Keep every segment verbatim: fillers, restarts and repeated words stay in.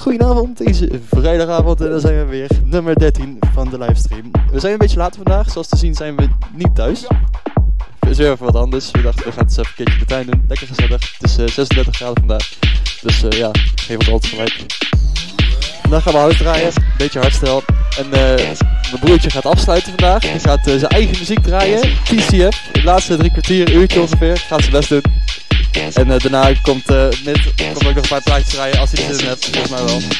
goedenavond, deze vrijdagavond en dan zijn we weer, nummer dertien van de livestream. We zijn een beetje later vandaag, zoals te zien zijn we niet thuis. Het is weer even wat anders, we dachten we gaan het eens even een keertje de tuin doen, lekker gezellig. Het is uh, zesendertig graden vandaag, dus uh, ja, geef het altijd gelijk. Vandaag gaan we hout draaien, een beetje hardstyle. En uh, mijn broertje gaat afsluiten vandaag, hij gaat uh, zijn eigen muziek draaien, T C F. De laatste drie kwartier, uurtje ongeveer, gaat zijn best doen. En uh, daarna komt uh, net komt ook nog een paar plaatjes draaien als hij er zin in hebt, volgens mij wel.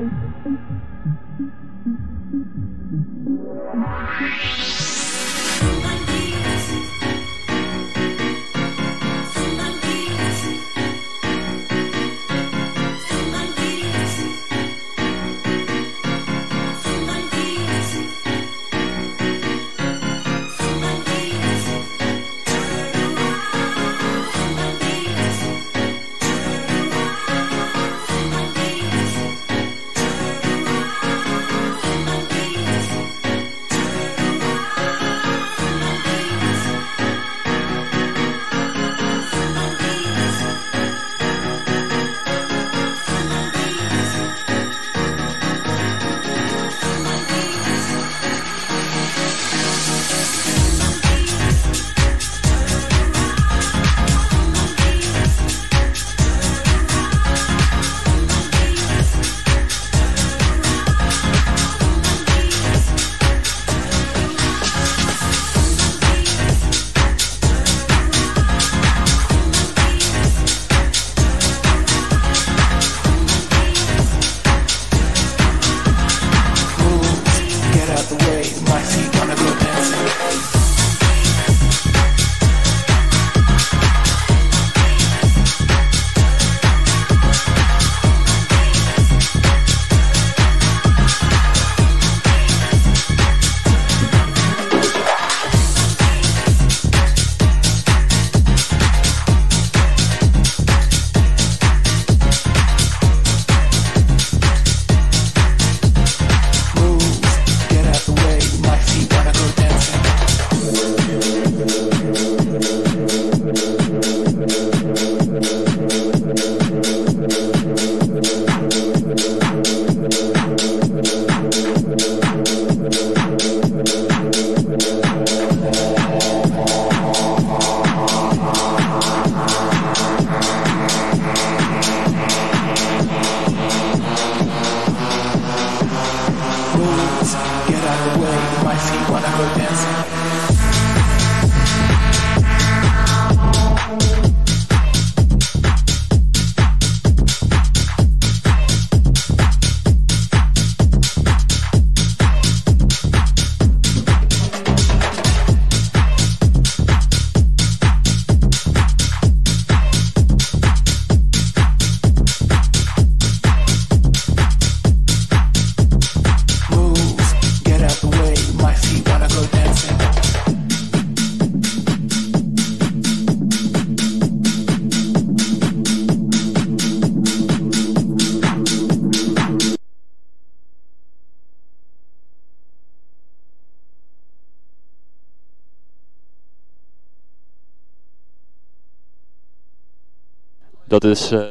Dat is, uh,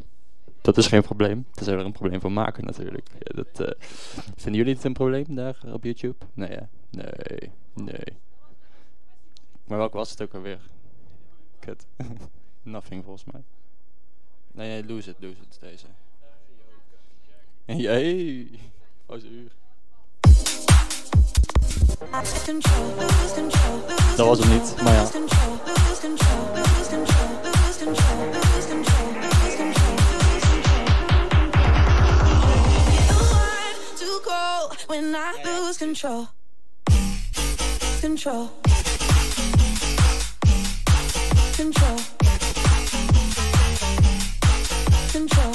dat is geen probleem. Dat is er een probleem van maken natuurlijk. Ja, dat, uh, vinden jullie het een probleem daar op YouTube? Nee, ja. Nee, nee. Maar welke was het ook alweer? Kut. Nothing volgens mij. Nee, nee, lose it, lose it, deze. Jee, pauze uur. Dat was het niet, maar ja. When I lose control, control, control, control.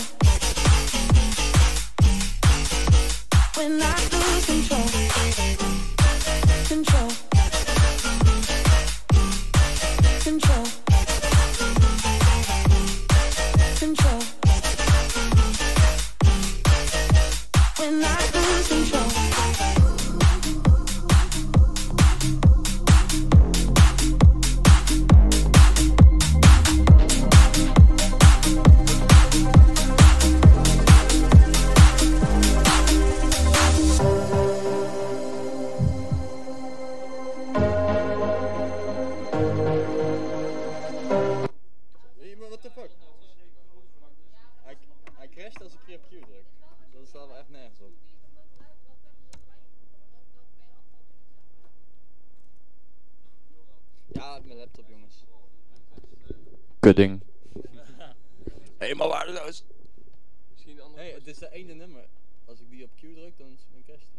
When I lose control, control, control, control. When I lose control. Kudding. Helemaal waardeloos. Misschien de andere. Hey, het is de ene nummer. Q druk, dan crash die.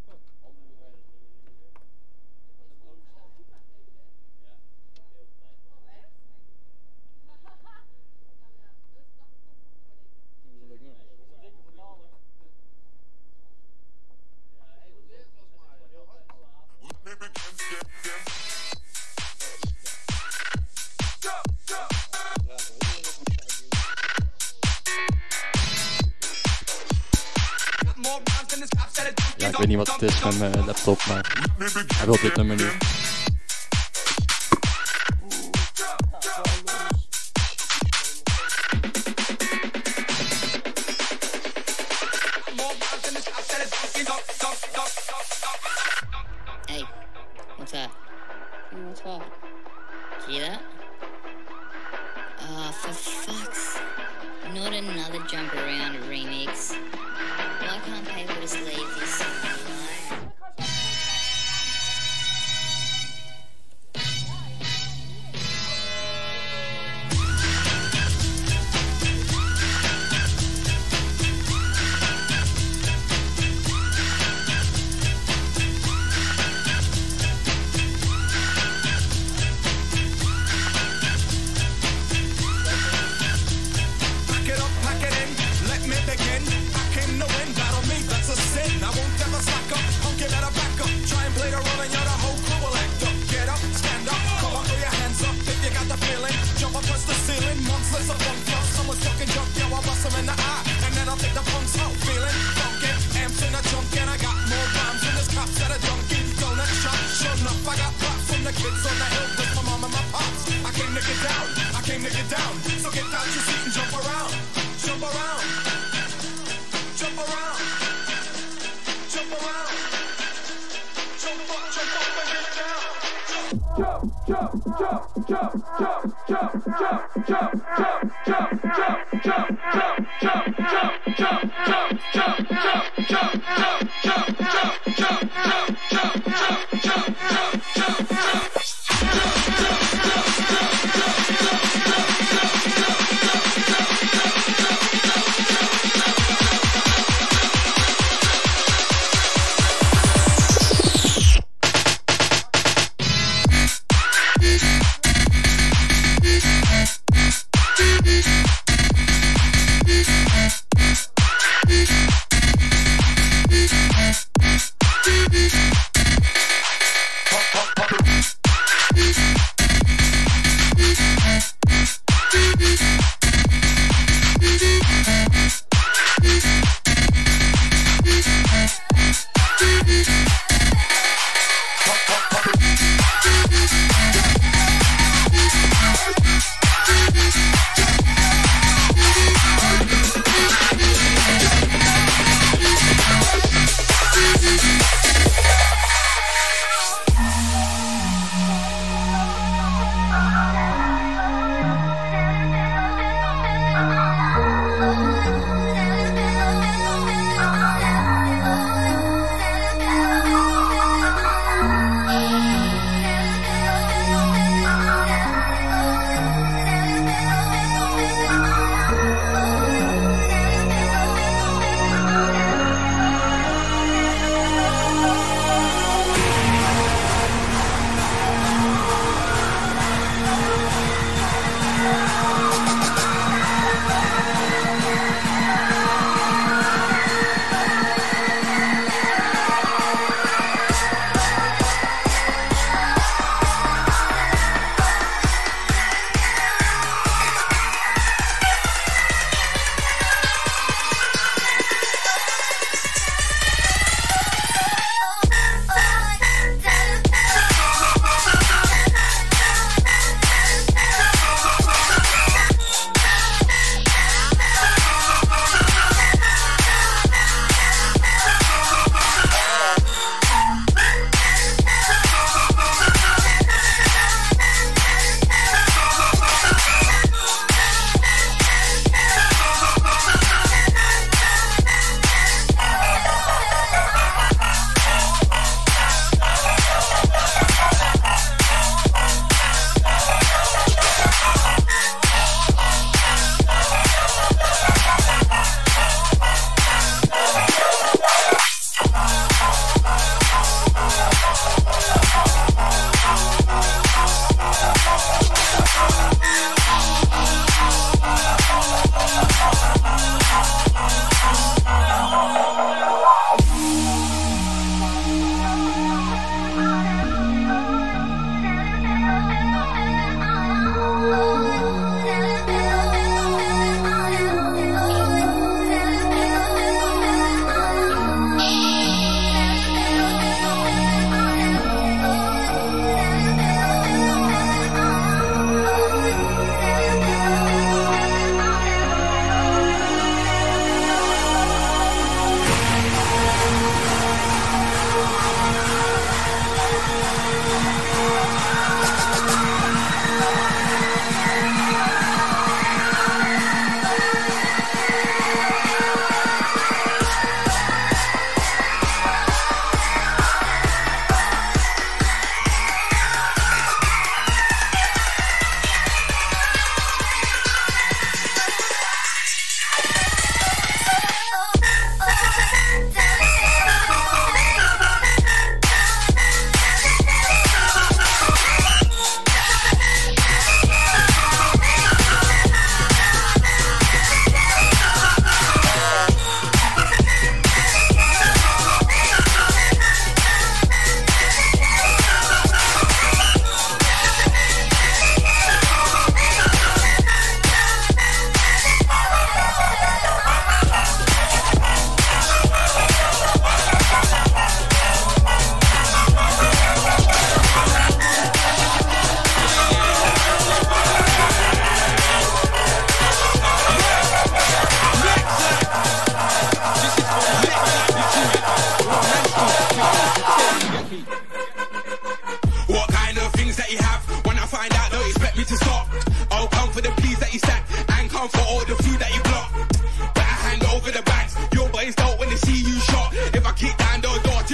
Ja, ik weet niet wat het is met mijn laptop, maar hij wil dit nummer niet. Hey, what's up? What's what? See that? Oh, for fuck's... Not another jump around remix. Why can't people just leave this song alone?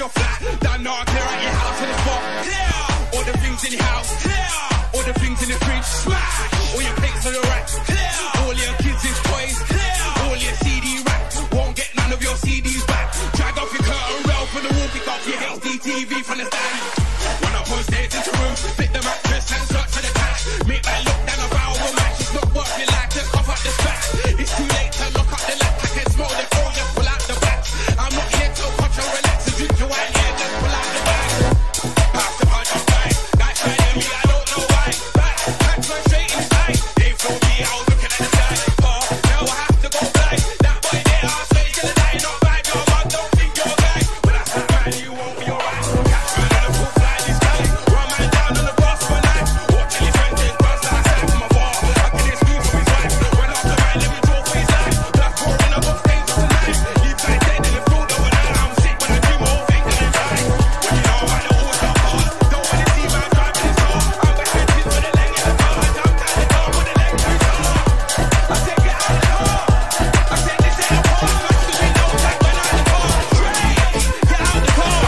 you're flat. Done not clear out your house in the spot. Clear. All the things in your house. Clear. All the things in the fridge. Smash. All your plates on the rack. Clear. All your kids' toys. Clear. All your C D rack. Won't get none of your C Ds back. Drag off your curtain rail from the wall. Pick up your H D T V from the stand. When I put stage into room, fit the mattress and search for the cash. Make that look down a barrel match. It's not working like to cough up the spats. It's too late to lock up the lamp. I can smell the cold, just pull out the back. I'm not here to watch or relax and drink your wine. Yeah, just pull out the bag. Pass the punch of time. Guys trying to me, I don't know why. Back, back, run straight inside. They throw me, I was looking at the sky. Oh, now I have to go blind. That boy there, I'll say he's gonna die. Not bad, your man don't think you're a guy. But that's not bad, you won't be alright. Catch man on the full fly, this guy. Run man down on the grass for a night. Watch till his friend take buzz like I said from afar. I can excuse for his wife. When after mine, let me draw for his life. Black core in a box, stage for tonight. Leave guys dead in the field overnight. I'm sick when I do my whole thing and it's right. When you know I know what's up hard. Don't wanna see man driving his car. I'm back with kids with a leg in the car. I jumped out the car with a leg too far. I said get out the car. I said this ain't a car. Smash the window, tag went out the car. Straight, get out the car.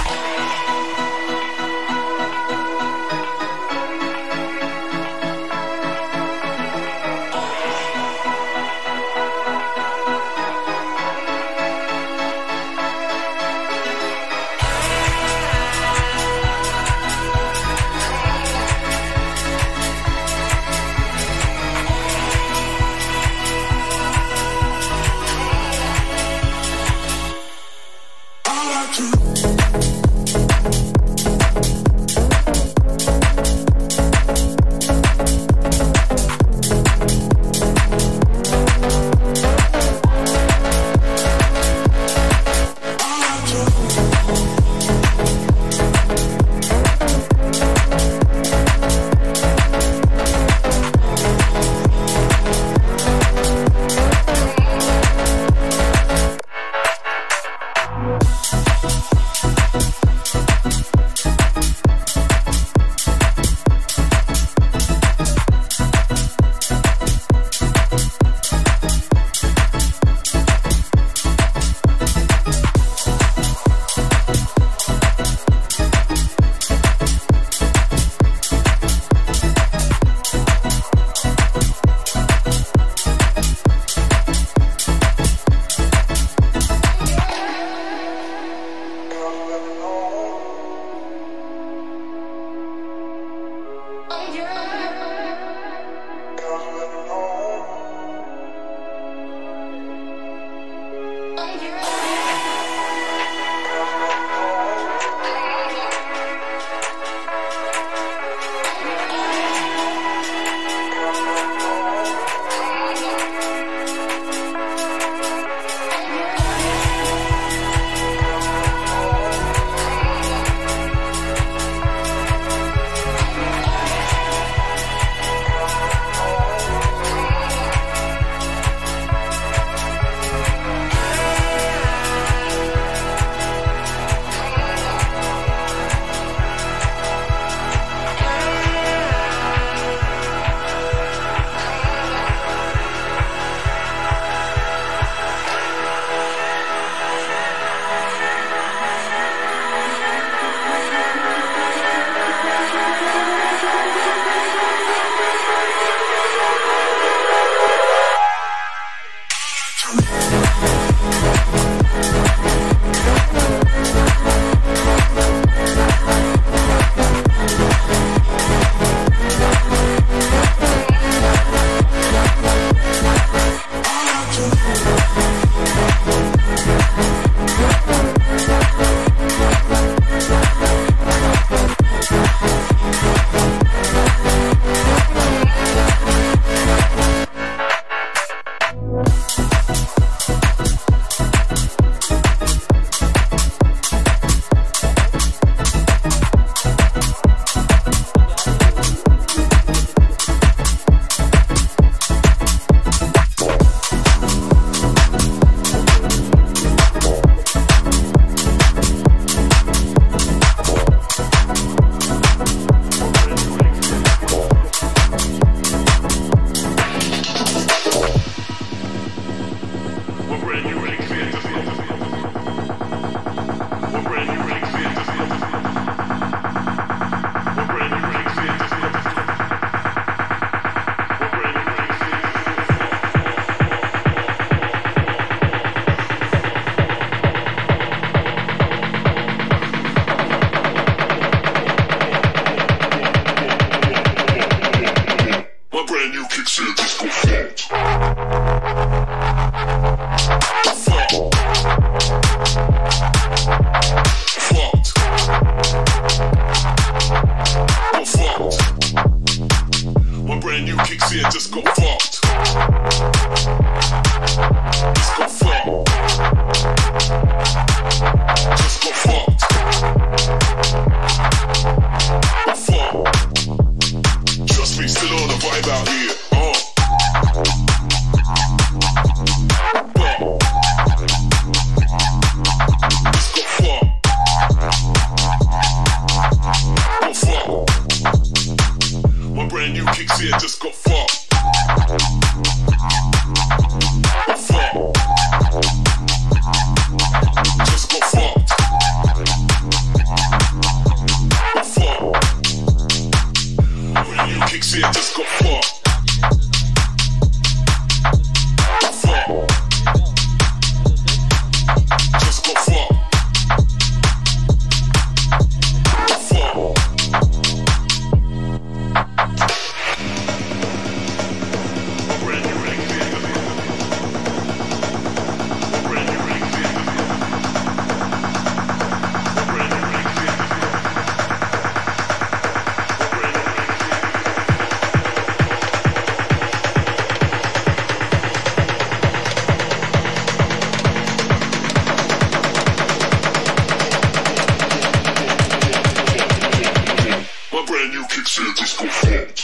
new kicks in, just go fucked.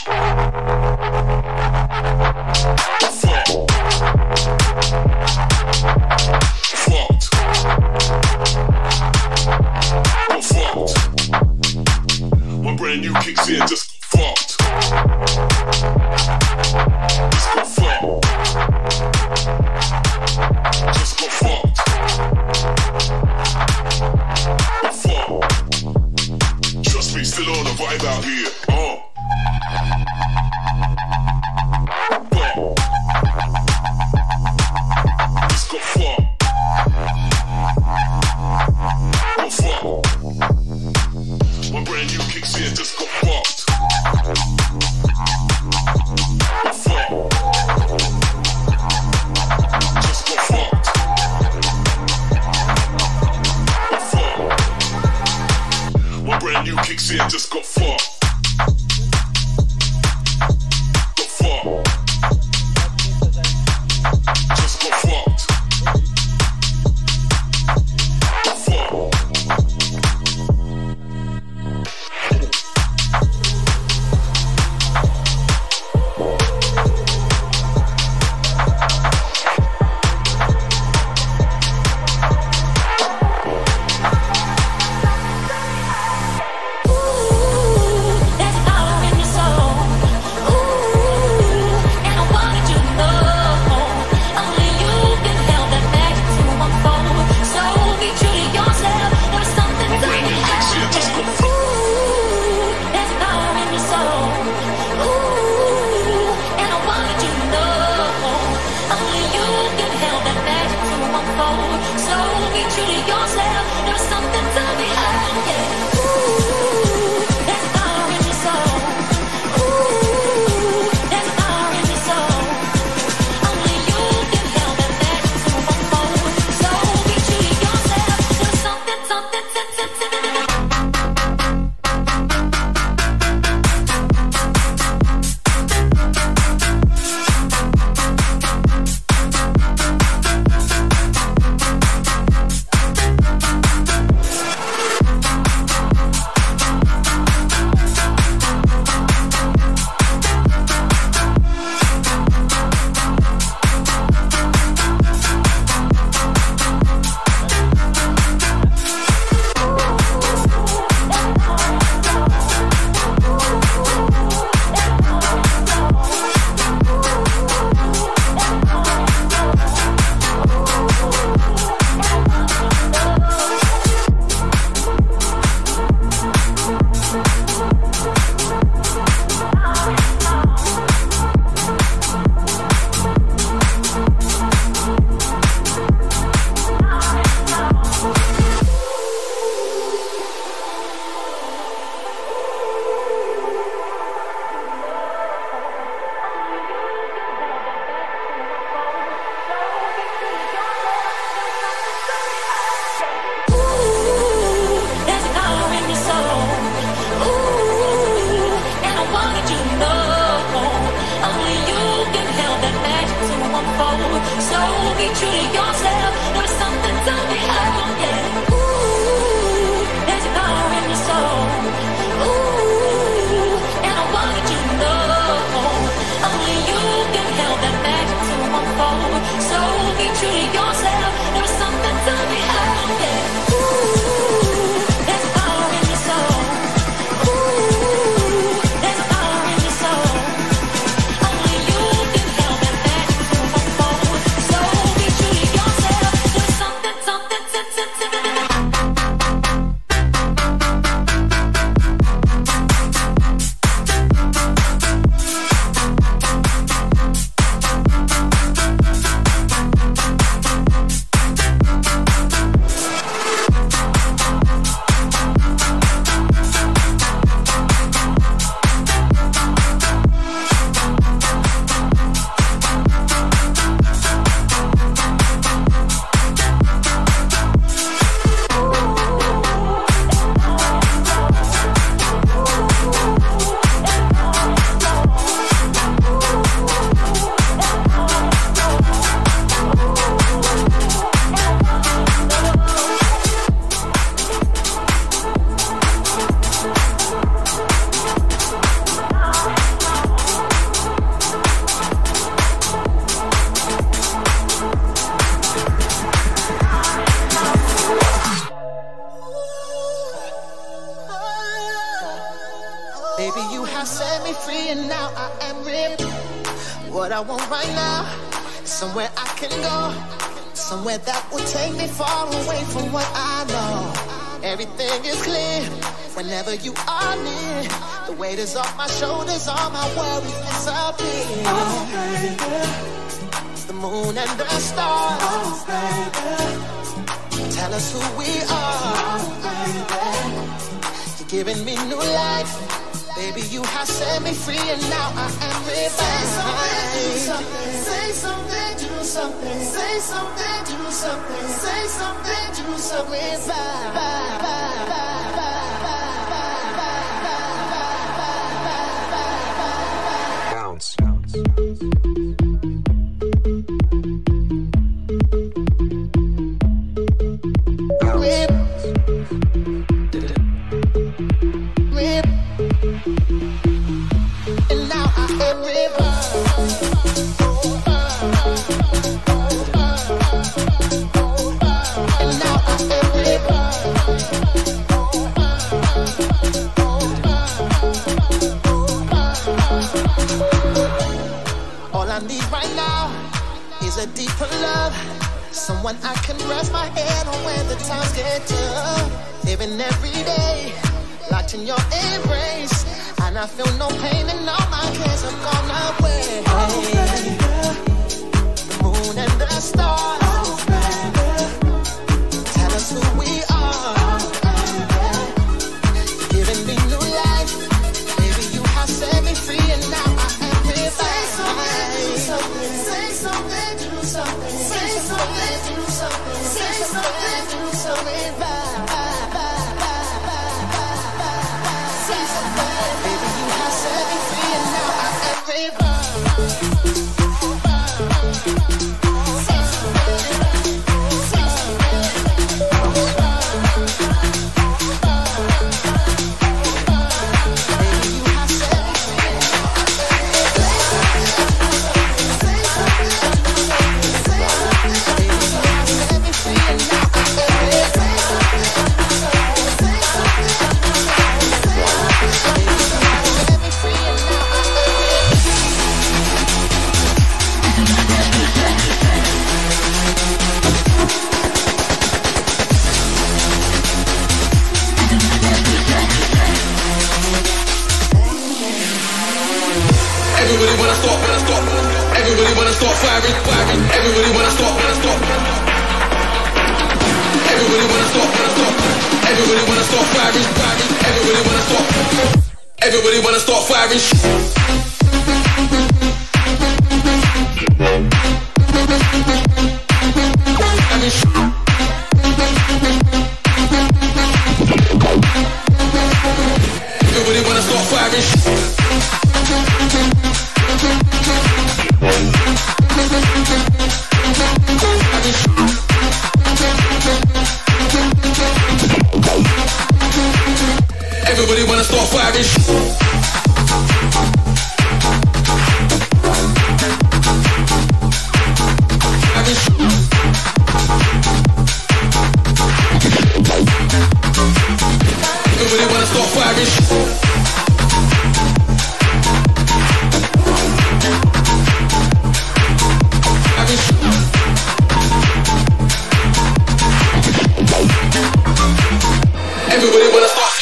Fucked. Fucked. Go fucked. My brand new kicks in, just go fucked. Just go fucked. Just go fucked. Go fucked. Trust me, still on a vibe out here. Uh. Fuck. Just go fucked. Go fucked. My brand new kicks in, just go fucked. Go fucked. Just go fucked. Go fucked. My brand new kicks in, just go fucked. Go fucked. Just go fucked. Go fucked. Ooh. Baby, you have set me free and now I am ripped. What I want right now is somewhere I can go, somewhere that will take me far away from what I know. Everything is clear whenever you are near. The weight is off my shoulders, all my worries disappear. Oh, baby. The moon and the stars, oh, baby, tell us who we are. Oh, baby. You're giving me new life. Baby, you have set me free and now I am revived. Say something, do something. Say something, do something. Say something, do something. Revive. Bounce. A deeper love, someone I can rest my head on when the times get tough. Living every day, locked in your embrace, and I feel no pain and all my cares have gone away. Oh, baby. The moon and the stars, oh, baby, tell us who we are. Oh, baby. Giving me new life, baby, you have set me free and now I am revived. Say something, say something. Something, say something, do something, say something, do something, bye, bye, bye, bye, bye, say something, baby, you have set me free and now I am revived. Say something, say something, baby, you have set me free and now I am revived. Say something. Everybody wanna stop, wanna stop. Everybody wanna stop firing, firing. Everybody wanna stop, wanna stop. Everybody wanna stop, wanna stop. Everybody wanna stop firing, firing. Everybody wanna stop. Everybody wanna stop firing. Everybody wanna stop firing. Everybody wanna start firing. Everybody wanna start firing. Everybody wanna start.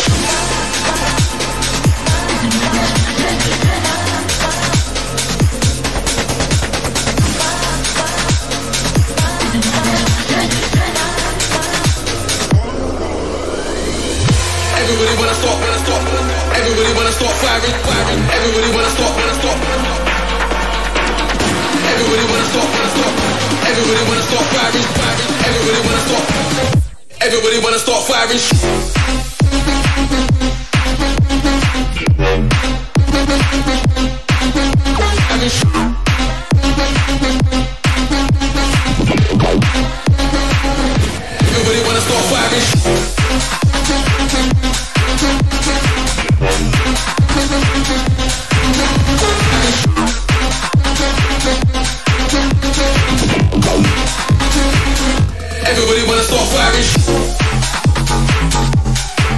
Everybody wanna stop, wanna stop. Everybody wanna stop firing, firing. Everybody wanna stop, wanna stop. Everybody wanna stop, wanna stop. Everybody wanna stop firing, firing. Everybody wanna stop. Everybody wanna start firing. Everybody wanna start firing. Everybody wanna start firing.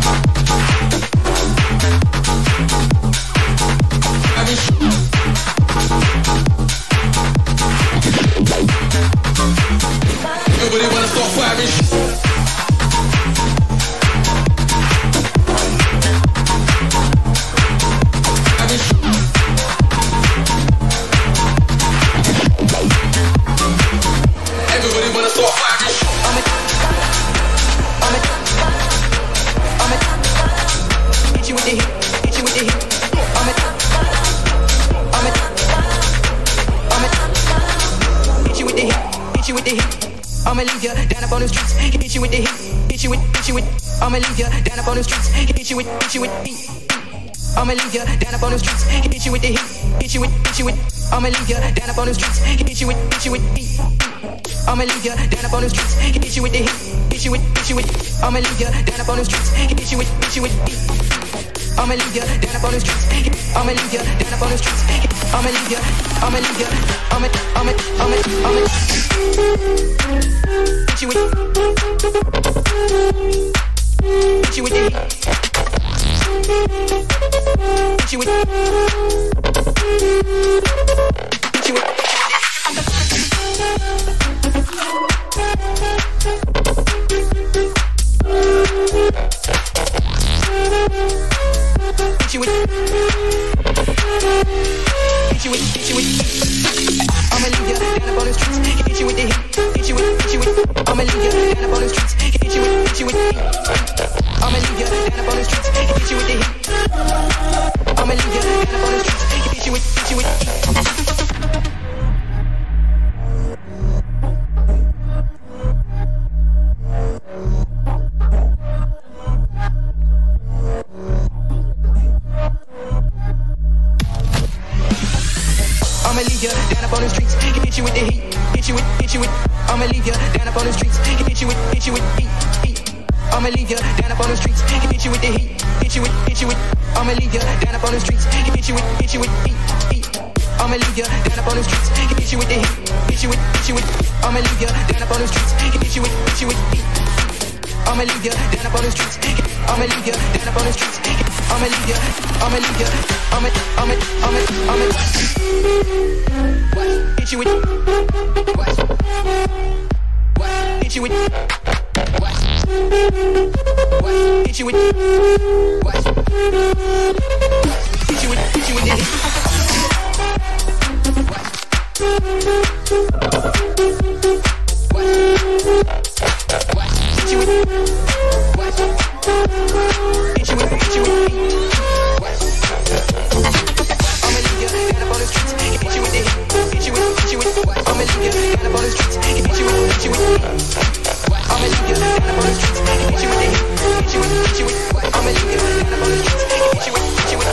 I'ma leave ya down up on the streets, hit you with, hit you with heat. I'ma leave ya down up on the streets, hit you with the heat, hit you with, hit you with. I'ma leave ya down up on the streets, hit you with, hit you with heat. I'ma leave ya down up on the streets, hit you with the heat, hit you with, hit you with. I'ma leave ya down up on the streets, hit you with, hit you with heat. I'ma leave ya down up on the streets, I'ma leave ya down up on the streets, I'ma leave ya, I'ma leave ya, I'ma, I'ma, I'ma, I'ma hit you with, hit you with the heat, hit you with, hit you with. Hit you with, hit you with, hit you with. I'ma leave ya down up on the streets, hit you with the heat, hit you with, hit you with. I'ma leave ya down up on the streets, hit you with, hit you with heat. I'ma leave ya down up on the streets, hit you with the heat. I'ma leave ya down up on the streets, hit you with, hit you with heat. I'ma leave ya down up on the streets, hit you with the heat, hit you with, hit you with. I'ma leave ya down up on the streets, hit you with, hit you with heat, heat. I'ma leave ya down up on the streets, hit you with the heat, hit you with, hit you with. I'ma leave ya down up on the streets, hit you with, hit you with heat, heat. I'ma leave ya down up on the streets, hit you with the heat, hit you with, hit you with. I'ma leave ya down up on the streets, hit you with, hit you with heat. I'ma leave ya down up on the streets, I'ma leave ya down up on the streets, I'ma leave ya, I'ma leave ya, I'ma, I'ma, I'ma, I'ma hit you with, hit you with, hit you with, hit you with, hit you with the hit. Hit you with, hit you with, hit you with heat. I'ma leave ya down up on the streets, hit you with the heat, hit you with, hit you with. I'ma leave ya down up on the streets, hit you with, hit you with heat. I'ma leave ya down up on the streets, hit you with the heat, hit you with, hit you with. I'ma leave ya down up on the streets, hit you with, hit you with.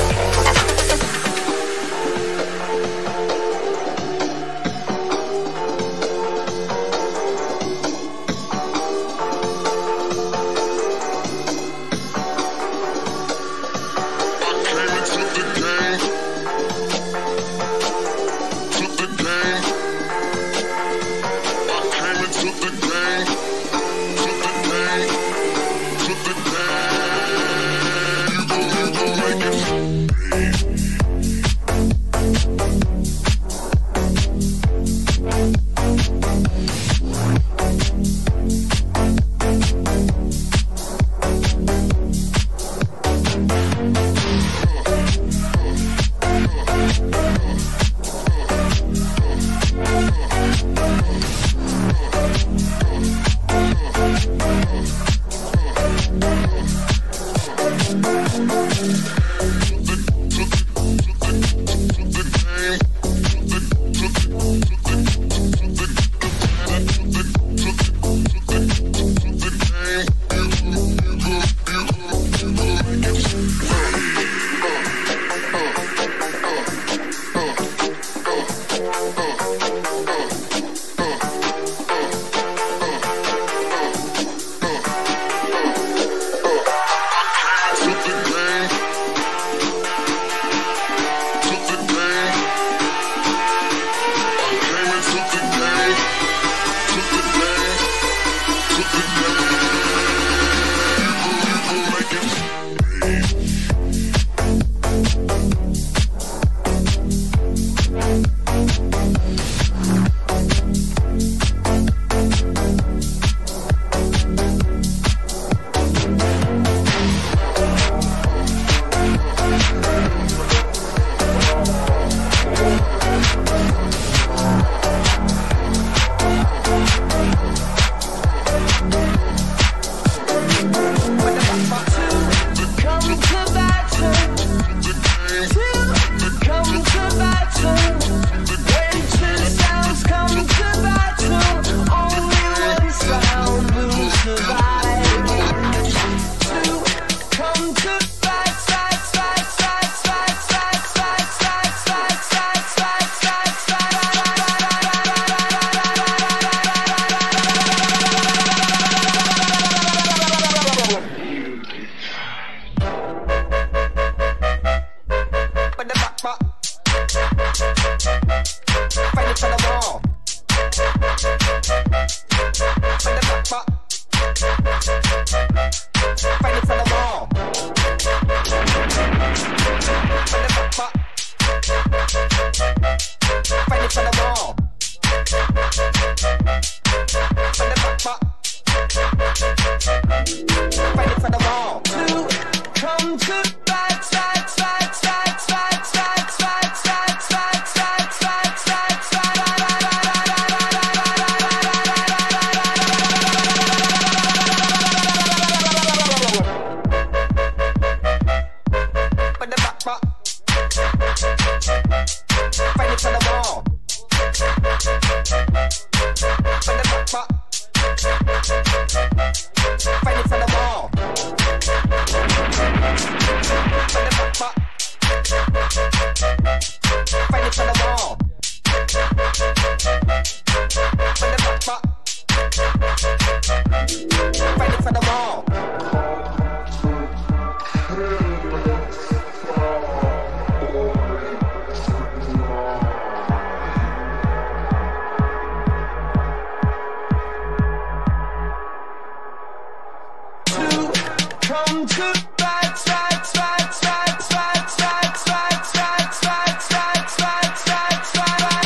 Come to right, right, right, right, right, right, right, right, right, right, right, right,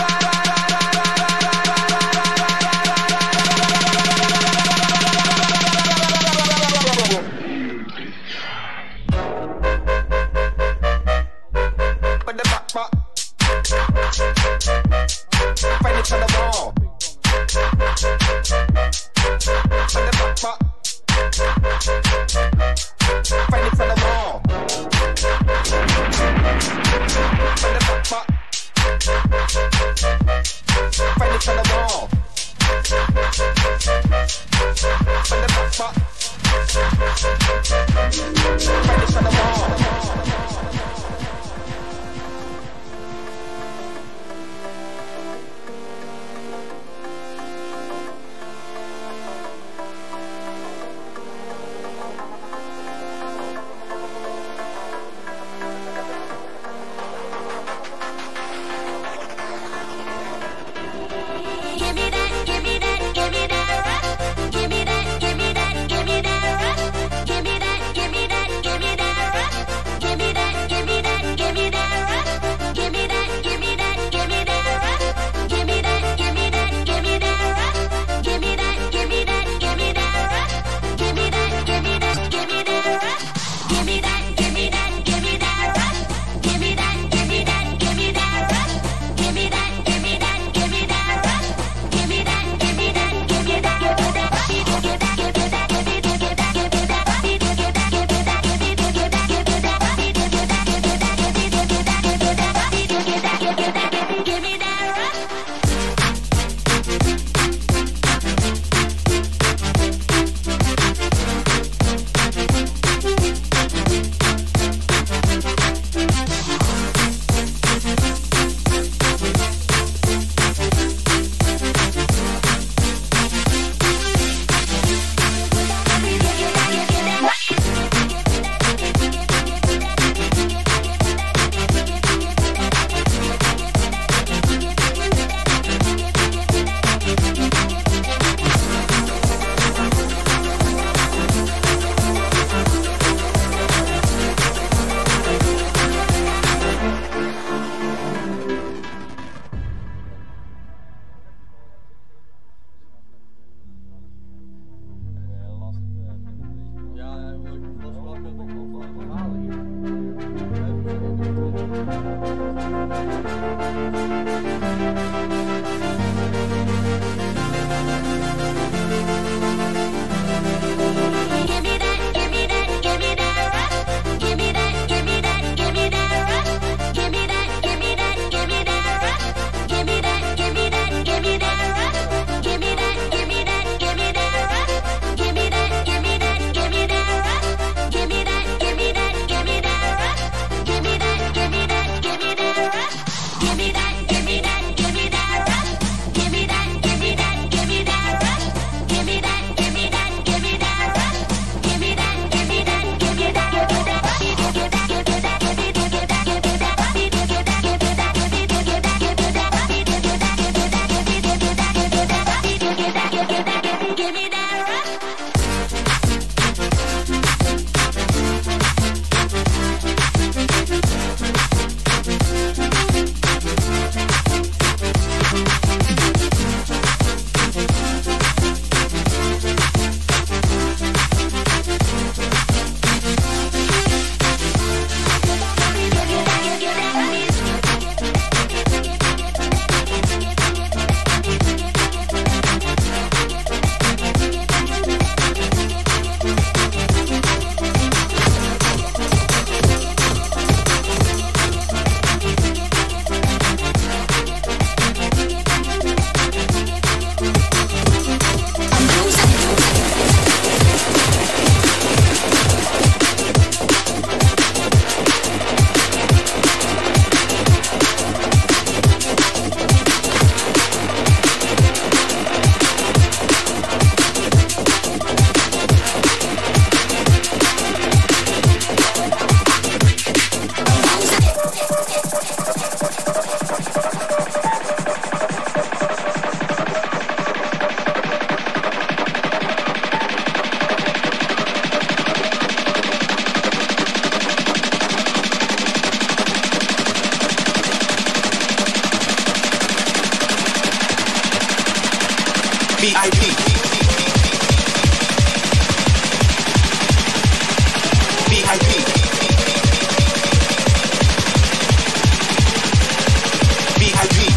But the back back, find it on the wall. But the back back. I P. V I P. V I P.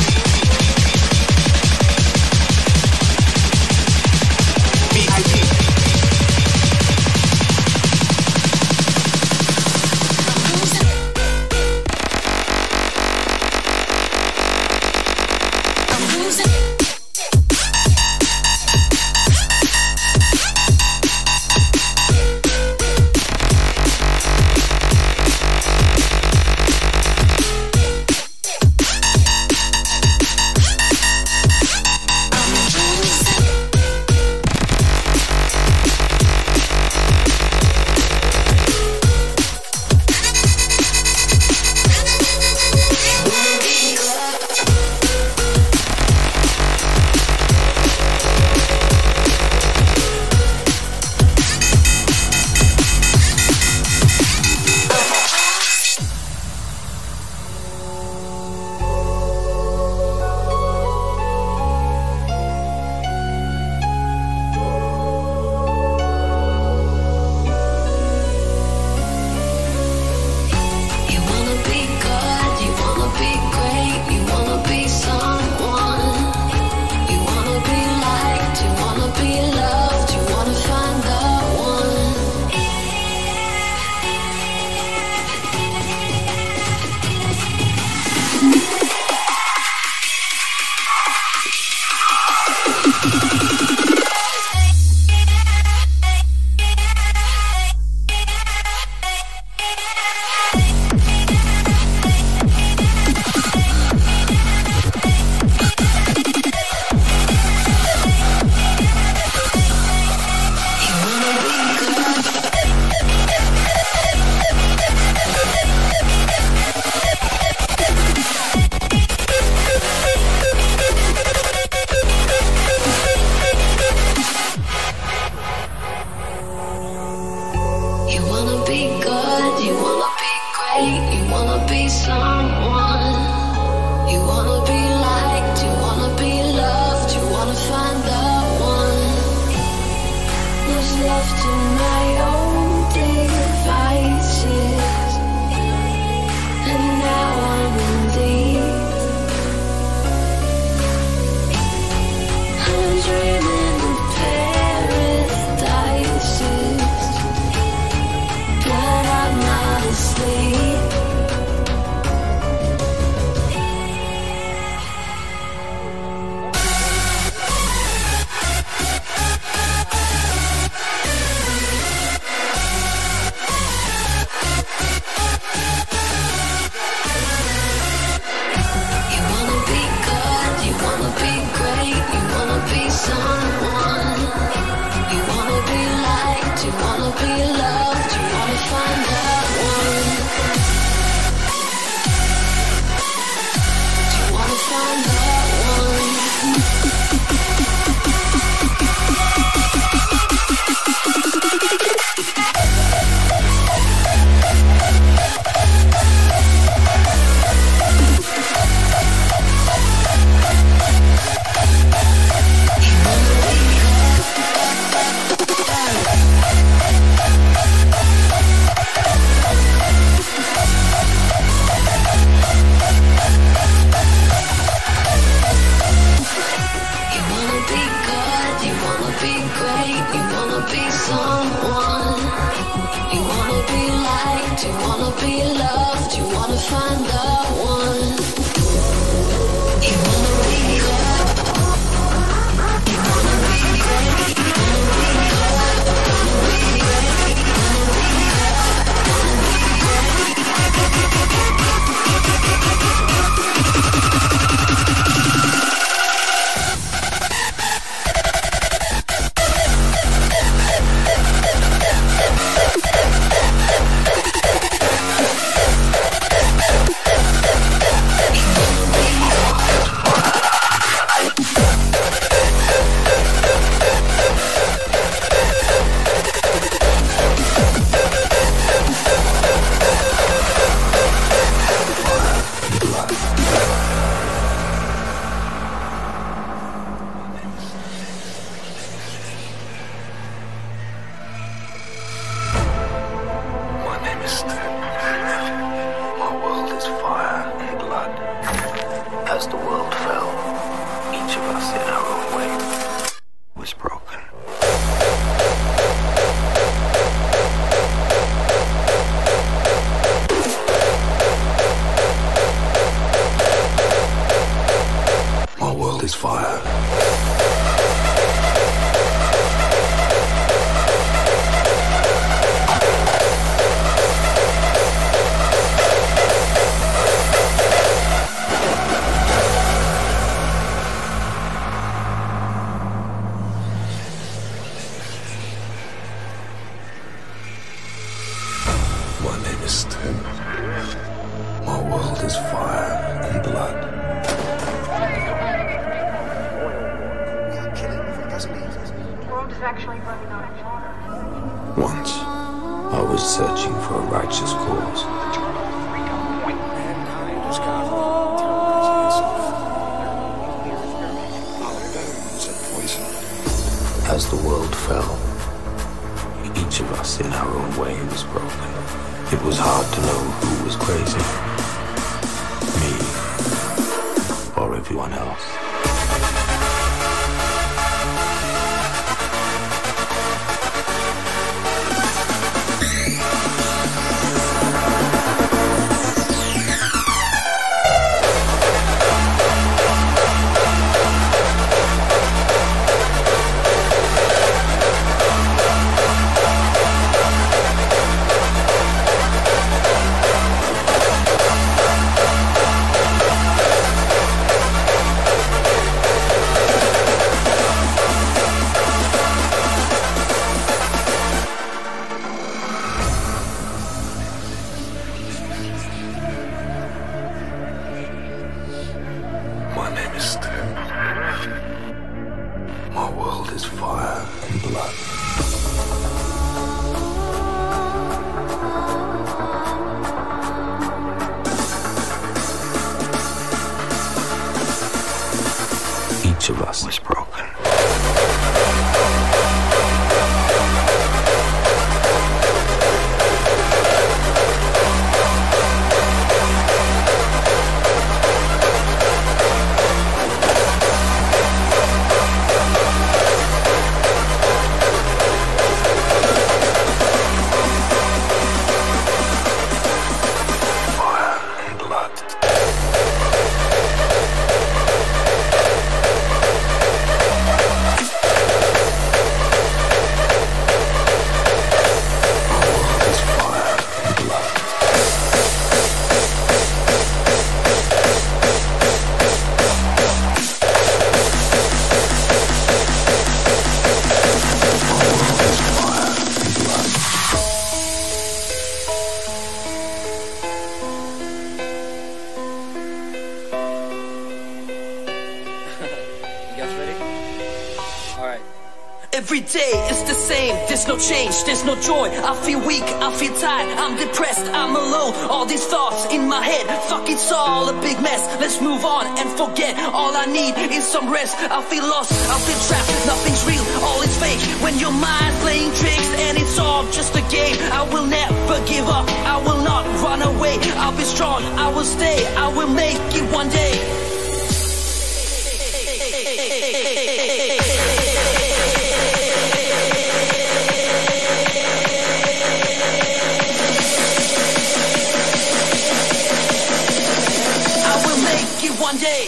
V I P. My name is Tim. My world is fire and blood. We are killing if it doesn't leave us. The world is actually running out of water. Once, I was searching for a righteous cause. Mankind was carved terrorizing itself. Our bones are poison. As the world fell, each of us in our own way was broken. It was hard to know who was crazy, me or everyone else. My name is Tim. My world is fire and blood. Each of us was broken. Fire and blood. Our world is fire and blood. Our world is fire and blood. You guys ready? Alright. Every day is the same, there's no change, there's no joy. I feel weak, I feel tired, I'm depressed, I'm alone. All these thoughts in my head, fuck, it's all a big mess. Let's move on and forget, all I need is some rest. I feel lost, I feel trapped, nothing's real, all is fake. When your mind playing tricks and it's all just a game, I will never give up, I will not run away. I'll be strong, I will stay, I will make it one day. I will make it one day.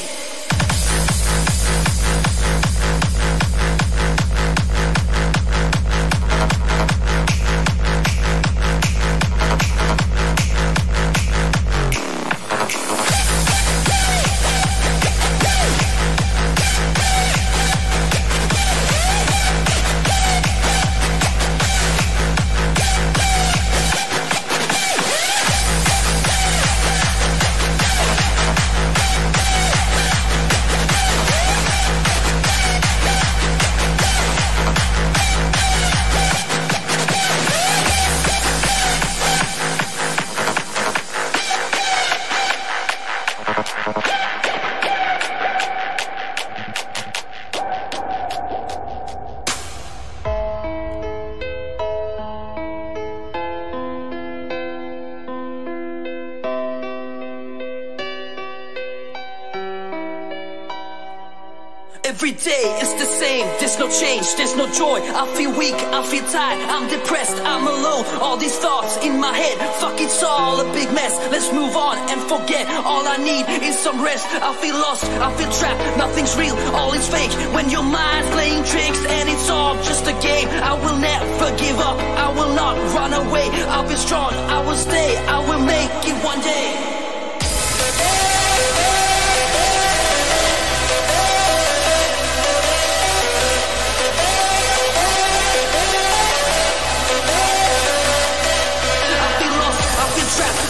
Every day is the same, there's no change, there's no joy. I feel weak, I feel tired, I'm depressed, I'm alone. All these thoughts in my head, fuck, it's all a big mess. Let's move on and forget, all I need is some rest. I feel lost, I feel trapped, nothing's real, all is fake. When your mind's playing tricks and it's all just a game, I will never give up, I will not run away. I'll be strong, I will stay, I will make it one day. I feel lost,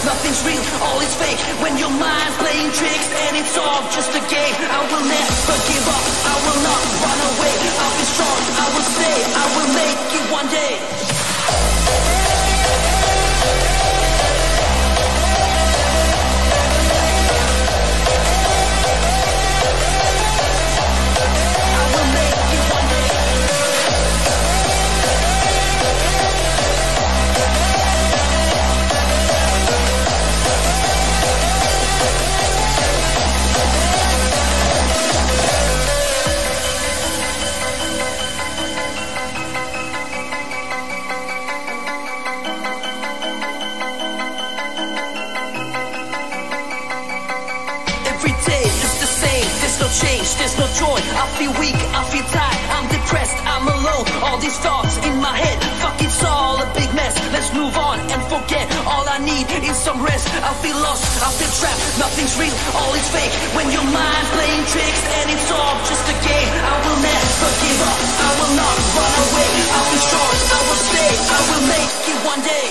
nothing's real, all is fake. When your mind's playing tricks and it's all just a game. I will never give up, I will not run away. I'll be strong, I will stay, I will make it one day. Change, there's no joy, I feel weak, I feel tired, I'm depressed, I'm alone, all these thoughts in my head, fuck it's all a big mess, let's move on and forget, all I need is some rest, I feel lost, I feel trapped, nothing's real, all is fake, when your mind's playing tricks and it's all just a game, I will never give up, I will not run away, I'll be strong, I will stay, I will make it one day.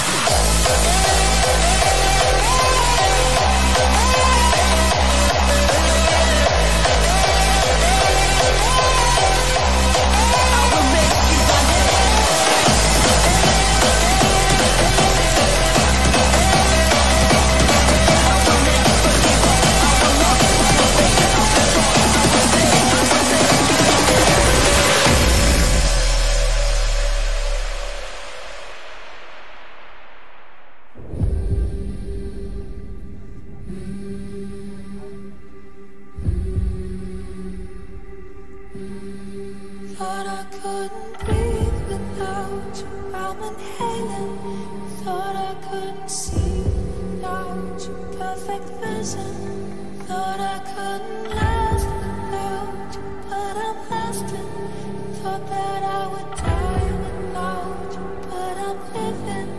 Thought I couldn't breathe without you. I'm inhaling. Thought I couldn't see without you. Perfect vision. Thought I couldn't last without you, but I'm lasting. Thought that I would die without you, but I'm living.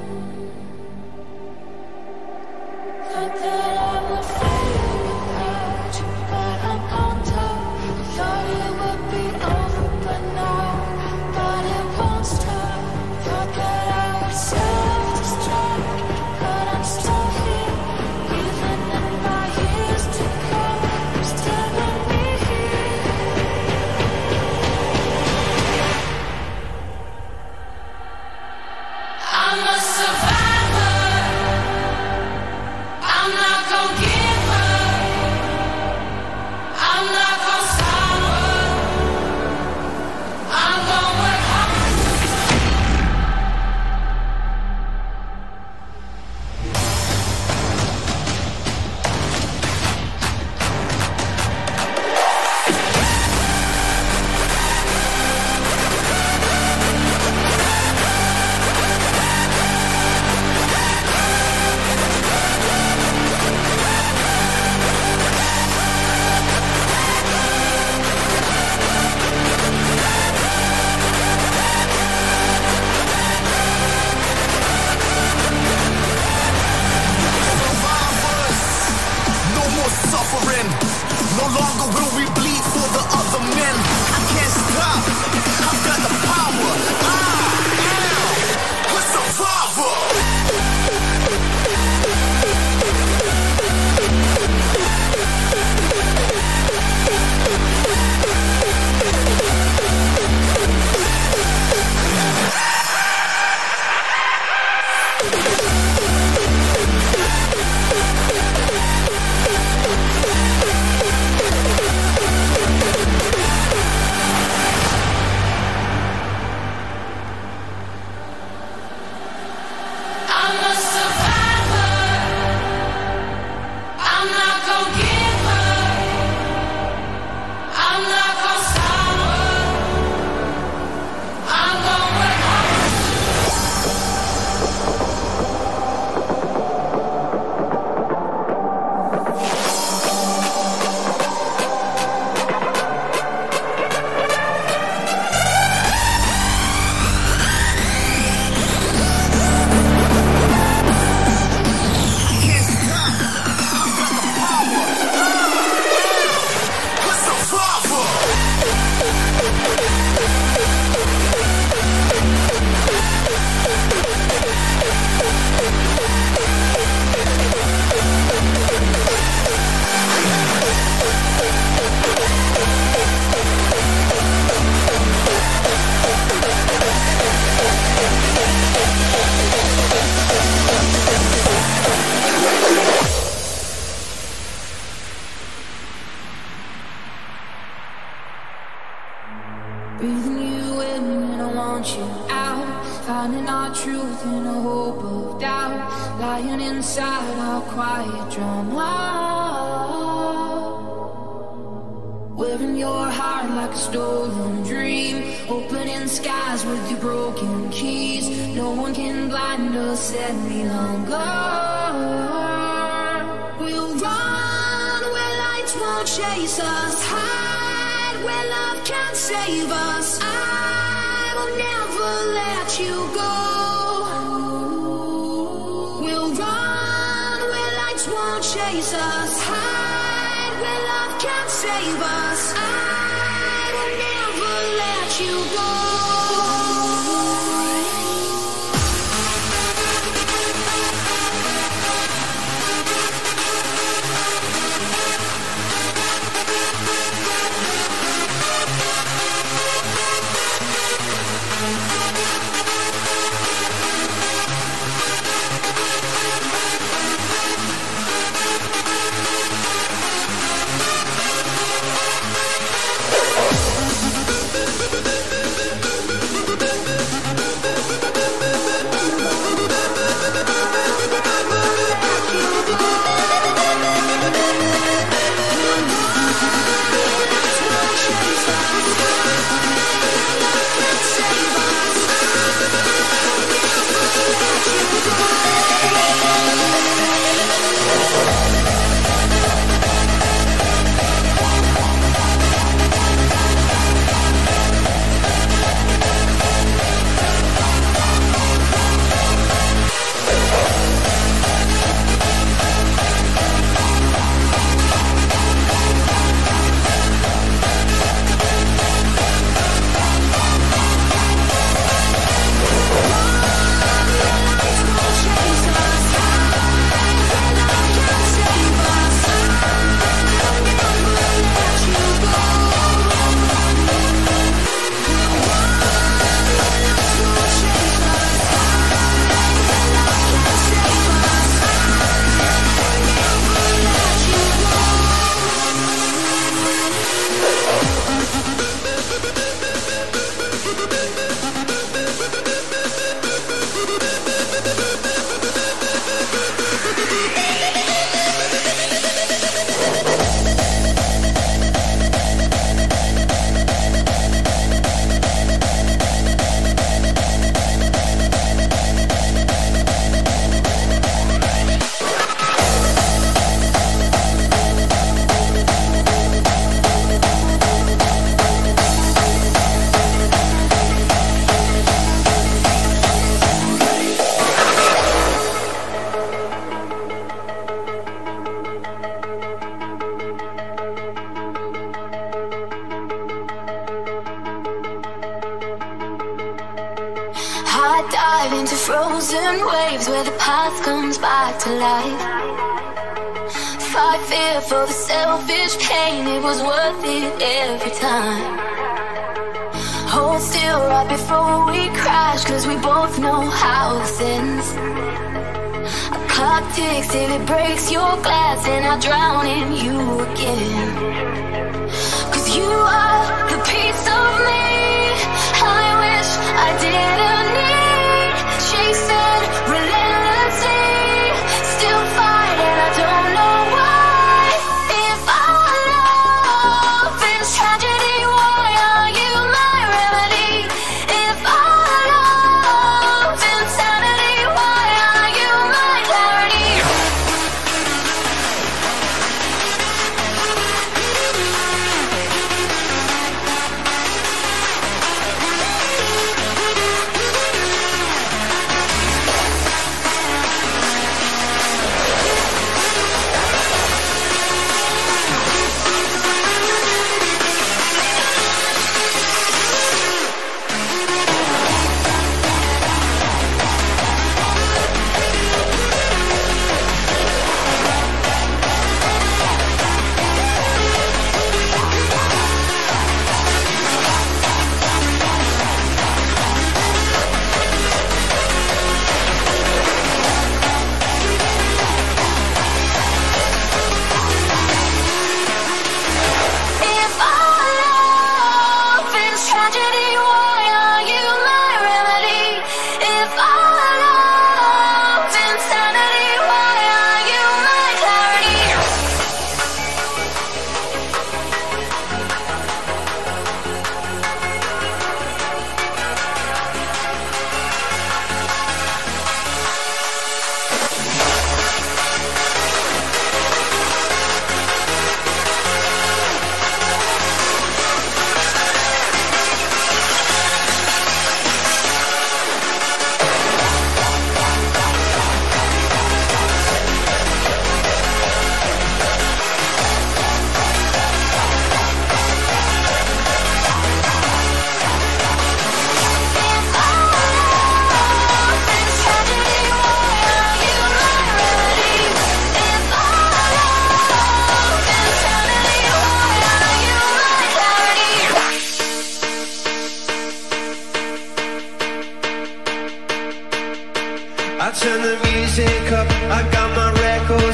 Thought that I would fail without you, but I'm on top. Thought it would be over, but now, but it won't stop. Thought that I would self-destruct, but I'm still here. Even in my years to come, I'm still gonna be here. lying inside our quiet drama, wearing your heart like a stolen dream, opening skies with your broken keys. No one can blind us any longer. We'll run where lights won't chase us, hide where love can't save us. I will never let you go. We'll run where lights won't chase us, hide where love can't save us. I will never let you go. frozen waves where the past comes back to life. Fight fear for the selfish pain, it was worth it every time. Hold still right before we crash, cause we both know how this ends. A clock ticks till it breaks your glass, and I drown in you again. Cause you are the piece of me I wish I didn't need. Chasing relentlessly, still fight and I don't know why. If our love is tragedy, why are you my remedy? If our love is insanity, why are you my clarity?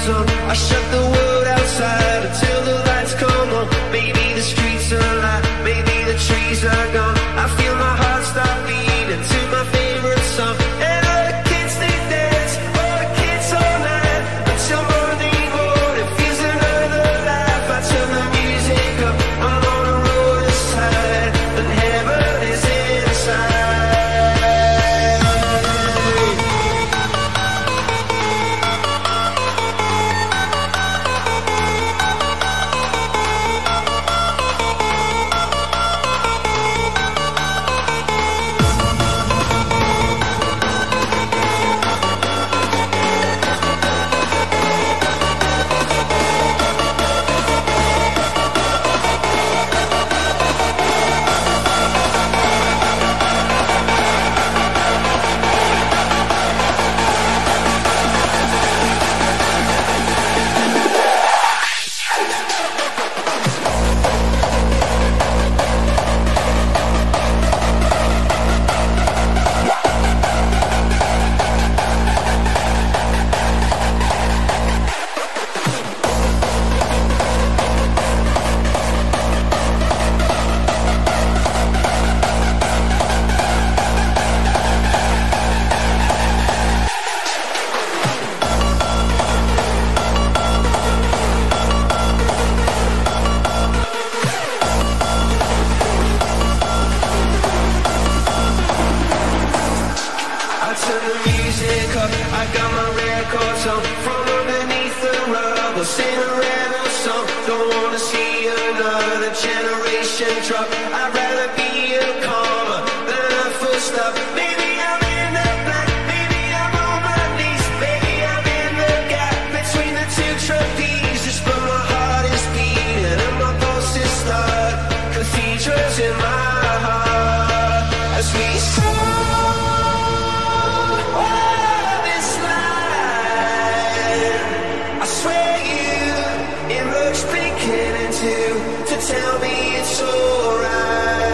goes on. I shut the world outside until the lights come on. Maybe the streets are alive, maybe the trees are gone. I feel my heart start beating to my favorite song. And all the kids they dance, all the kids all night until morning wood. It feels another life. I turn the music up, I'm on a road aside, and heaven is inside. Tell me it's alright.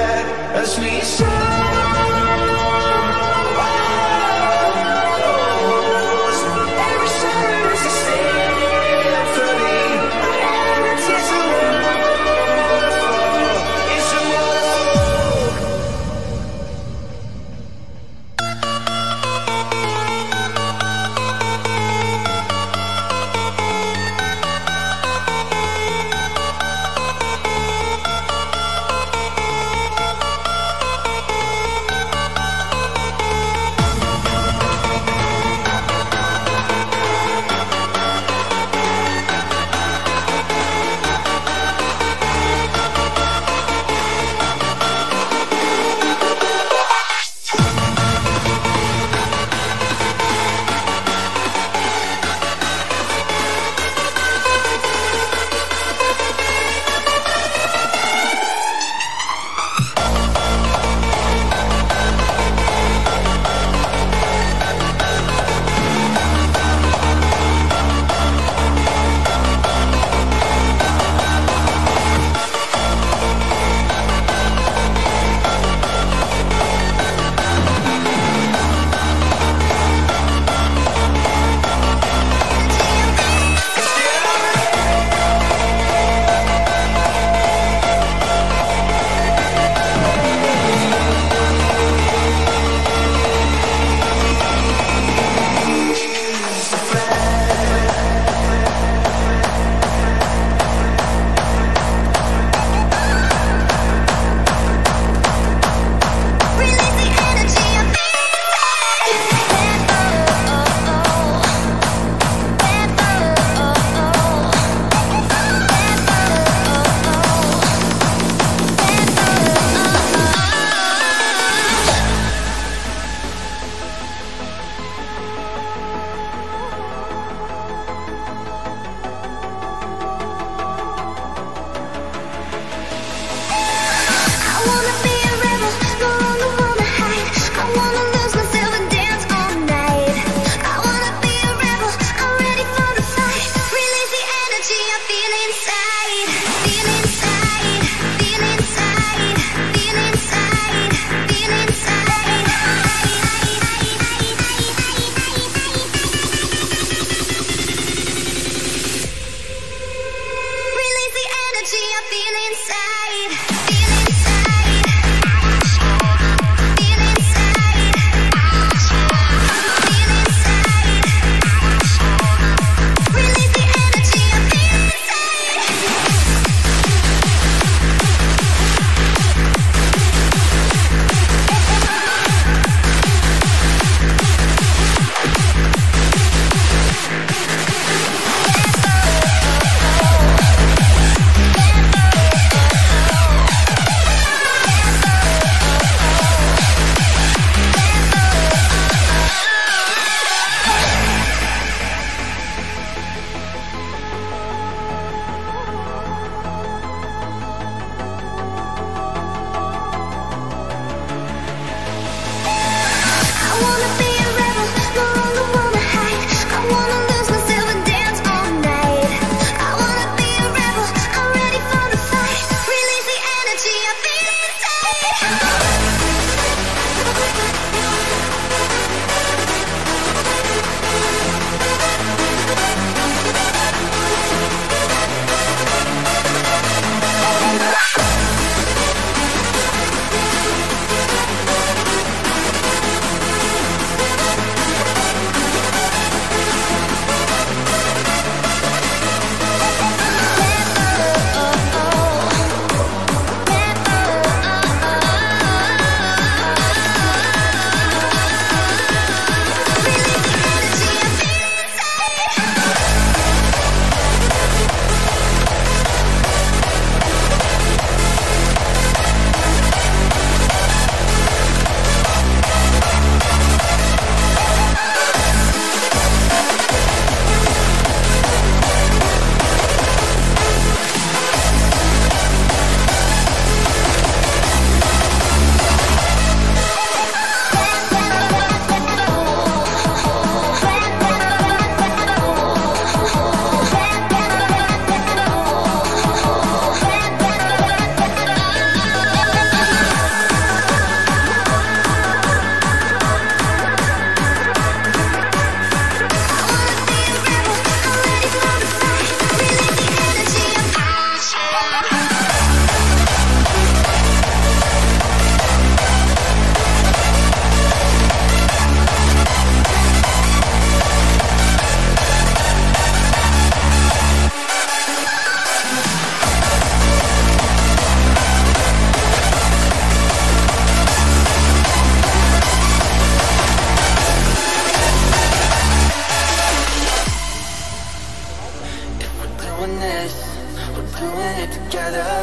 doing this, we're doing it together.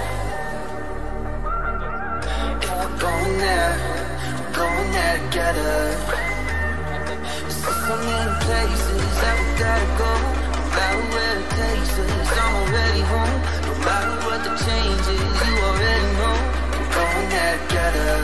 If we're going there, we're going there together. There's so many places that we gotta go. No matter where it takes us, I'm already home. No matter what the change is, you already know. We're going there together.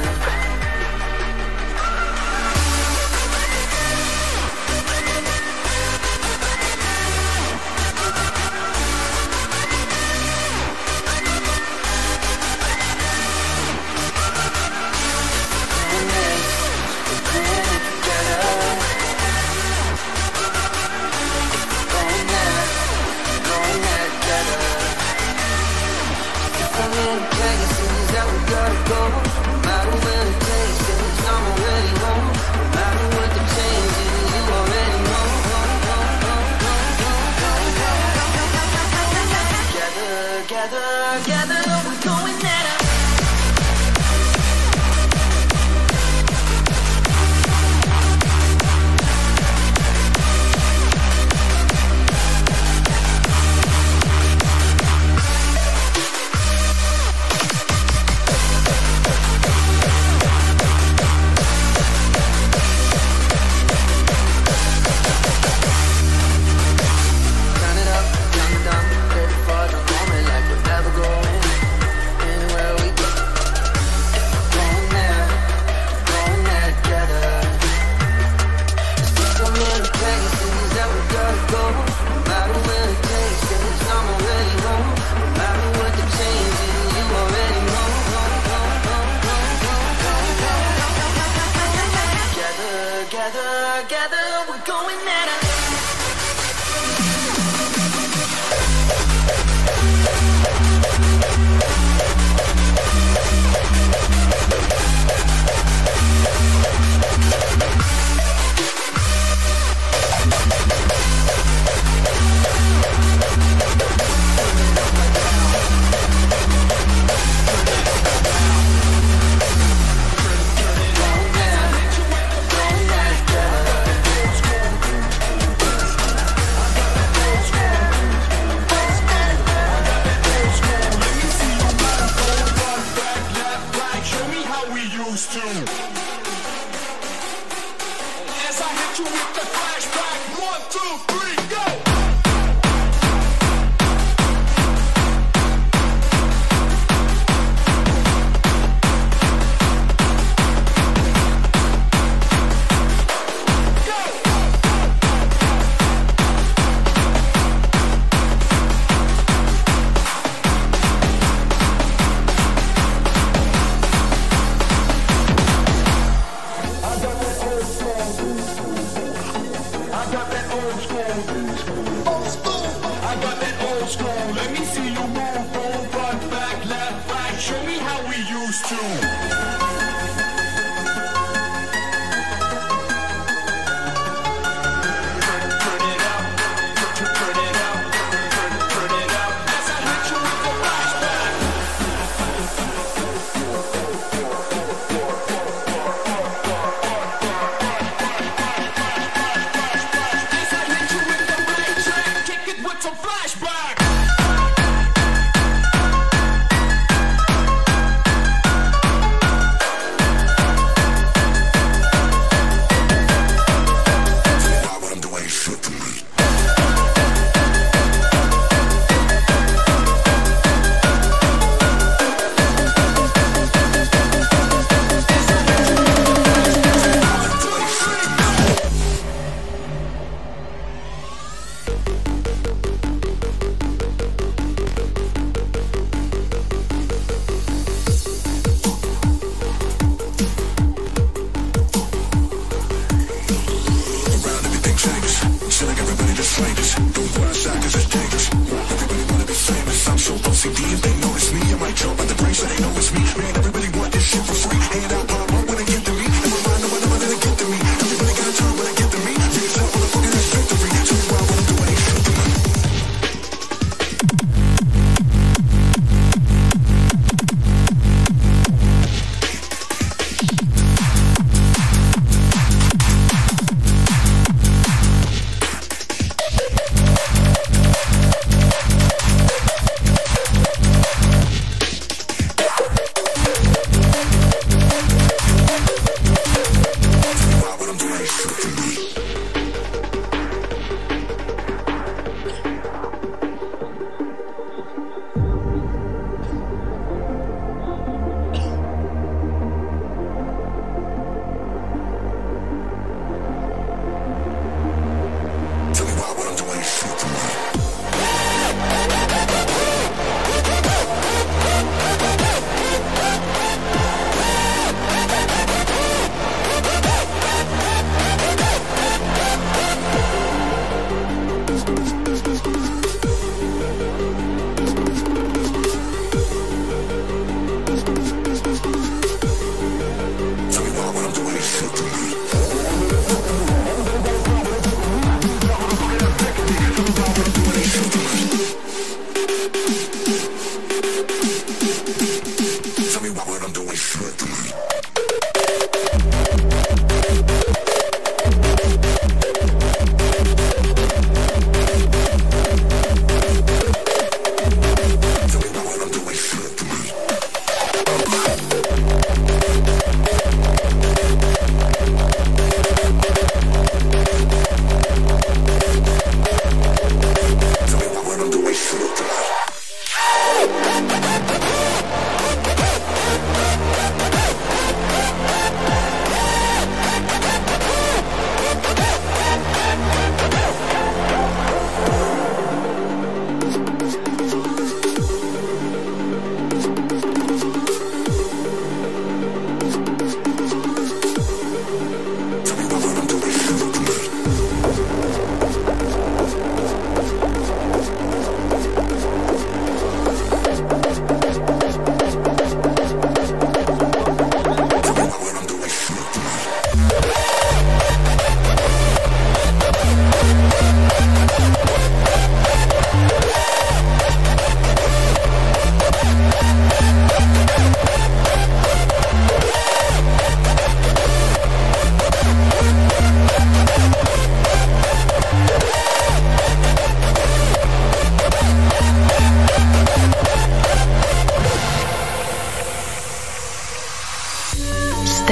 Flashback.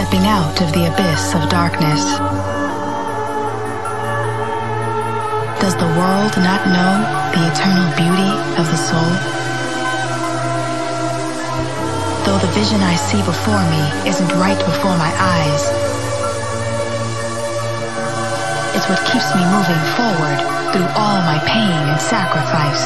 Stepping out of the abyss of darkness. Does the world not know the eternal beauty of the soul? Though the vision I see before me isn't right before my eyes, it's what keeps me moving forward through all my pain and sacrifice.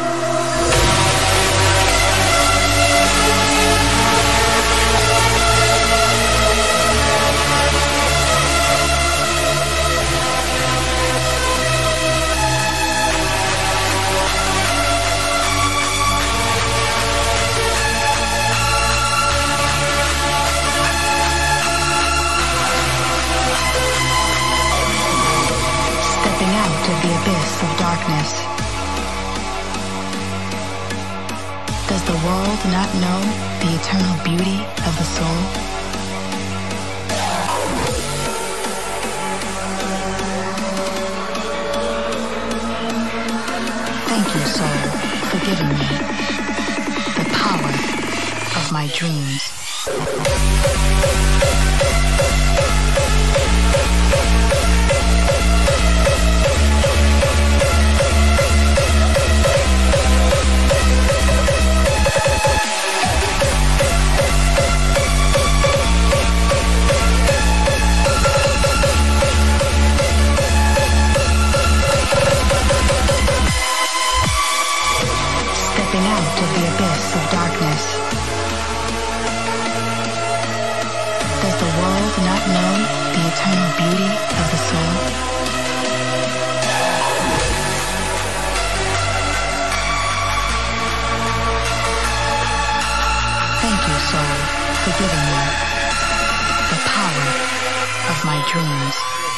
The abyss of darkness. Does the world not know the eternal beauty of the soul? Thank you, soul, for giving me the power of my dreams. Out of the abyss of darkness. Does the world not know the eternal beauty of the soul? Thank you, soul, for giving me the power of my dreams.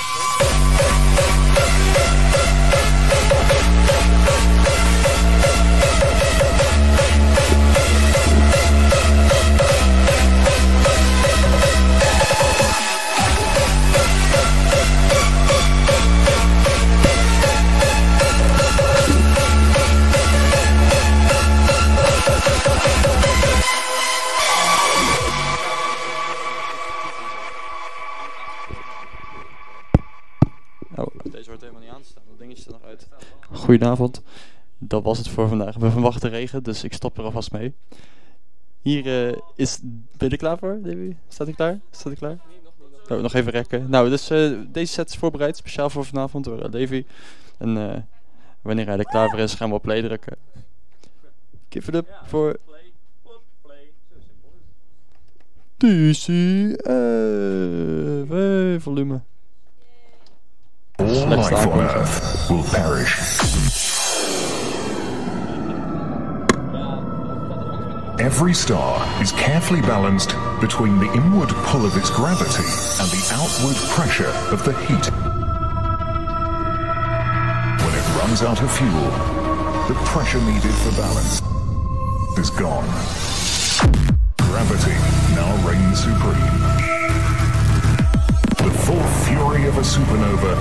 Goedenavond, dat was het voor vandaag. We verwachten regen, dus ik stop er alvast mee. Hier uh, is... Ben je er klaar voor, Davy? Staat hij klaar? Staat hij klaar? Oh, nog even rekken. Nou, dus uh, deze set is voorbereid, speciaal voor vanavond door uh, Davy. En uh, wanneer hij er klaar voor is, gaan we op play drukken. Give it up voor... D C F, hey, volume. All life on Earth will perish. Every star is carefully balanced between the inward pull of its gravity and the outward pressure of the heat. When it runs out of fuel, the pressure needed for balance is gone. Gravity now reigns supreme. The full fury of a supernova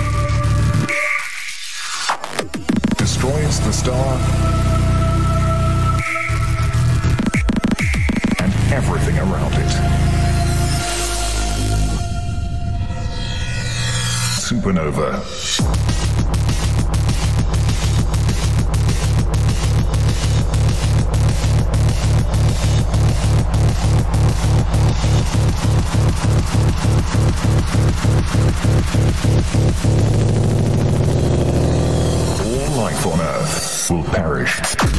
destroys the star and everything around it. Supernova. All life on Earth will perish.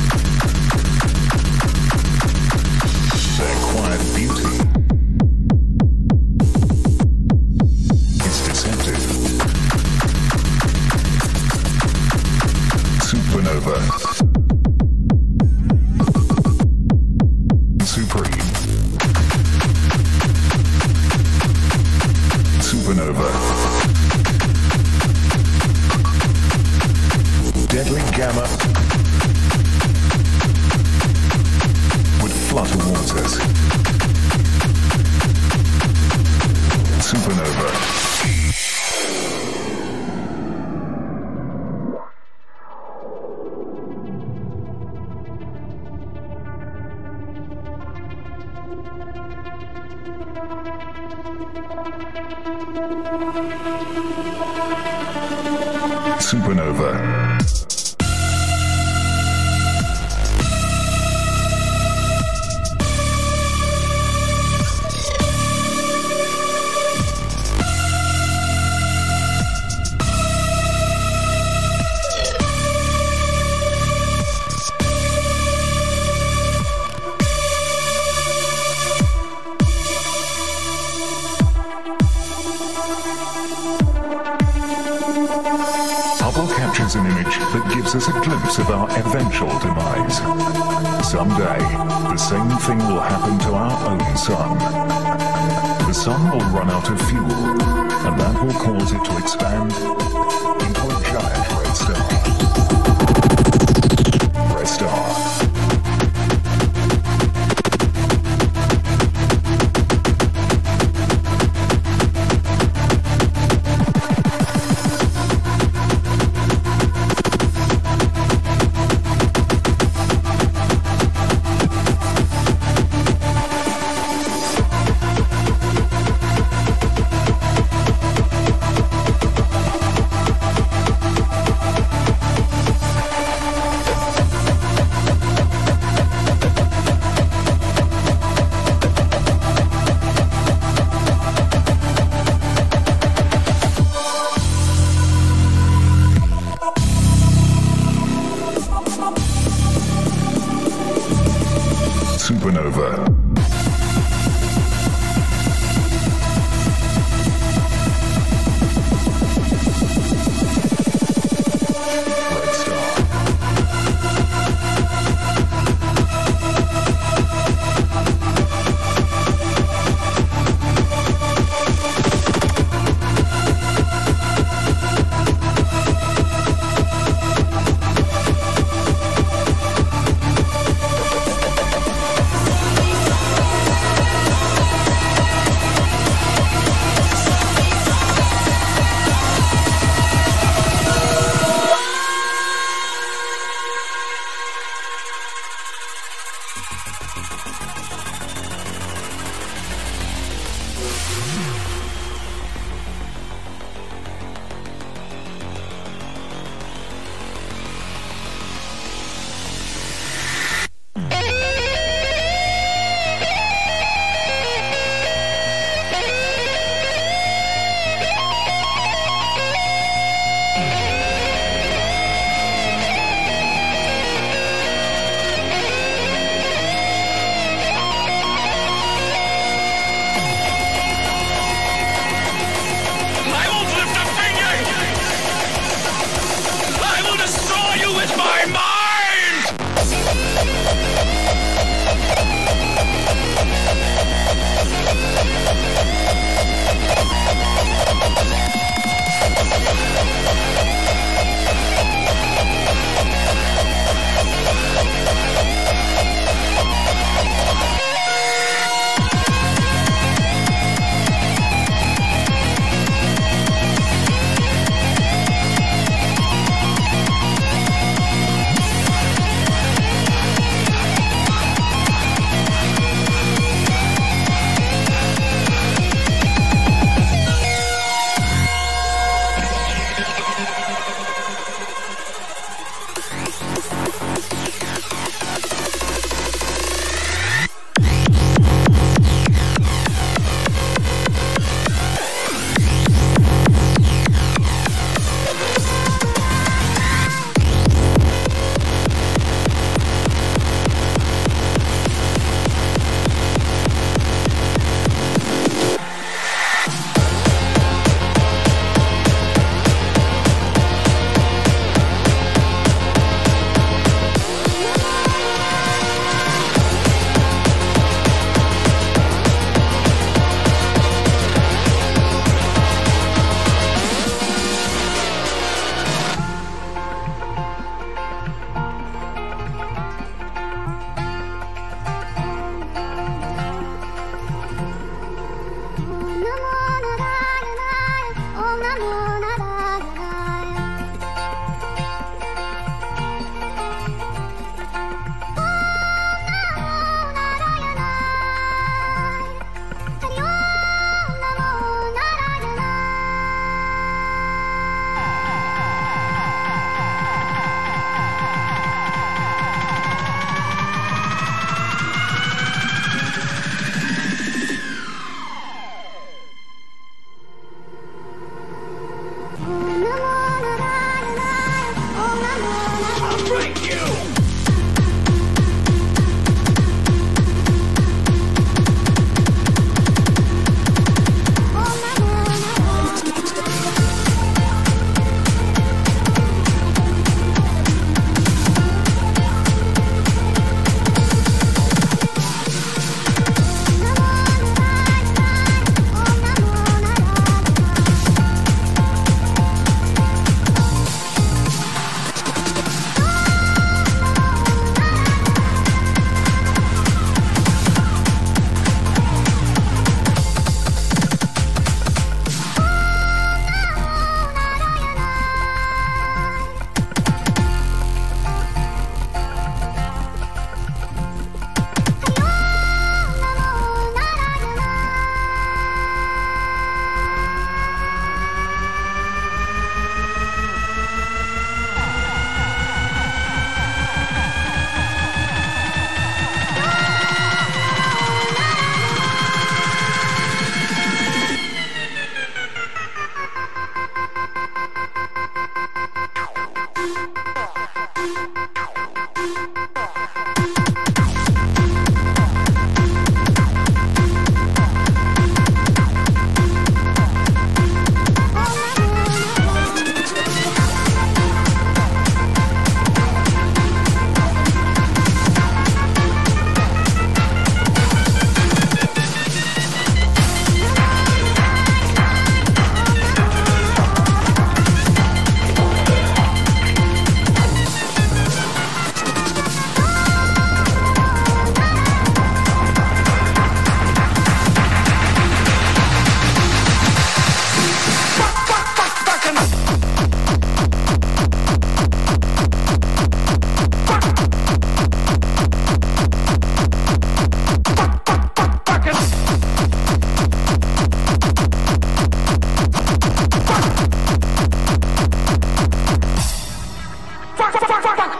Their quiet beauty is deceptive. Supernova. Supreme. Supernova. Deadly gamma would flutter waters. Supernova. Supernova. An image that gives us a glimpse of our eventual demise. Someday, the same thing will happen to our own sun. The sun will run out of fuel, and that will cause it to expand into a giant red star. Red star. Supernova. Supernova.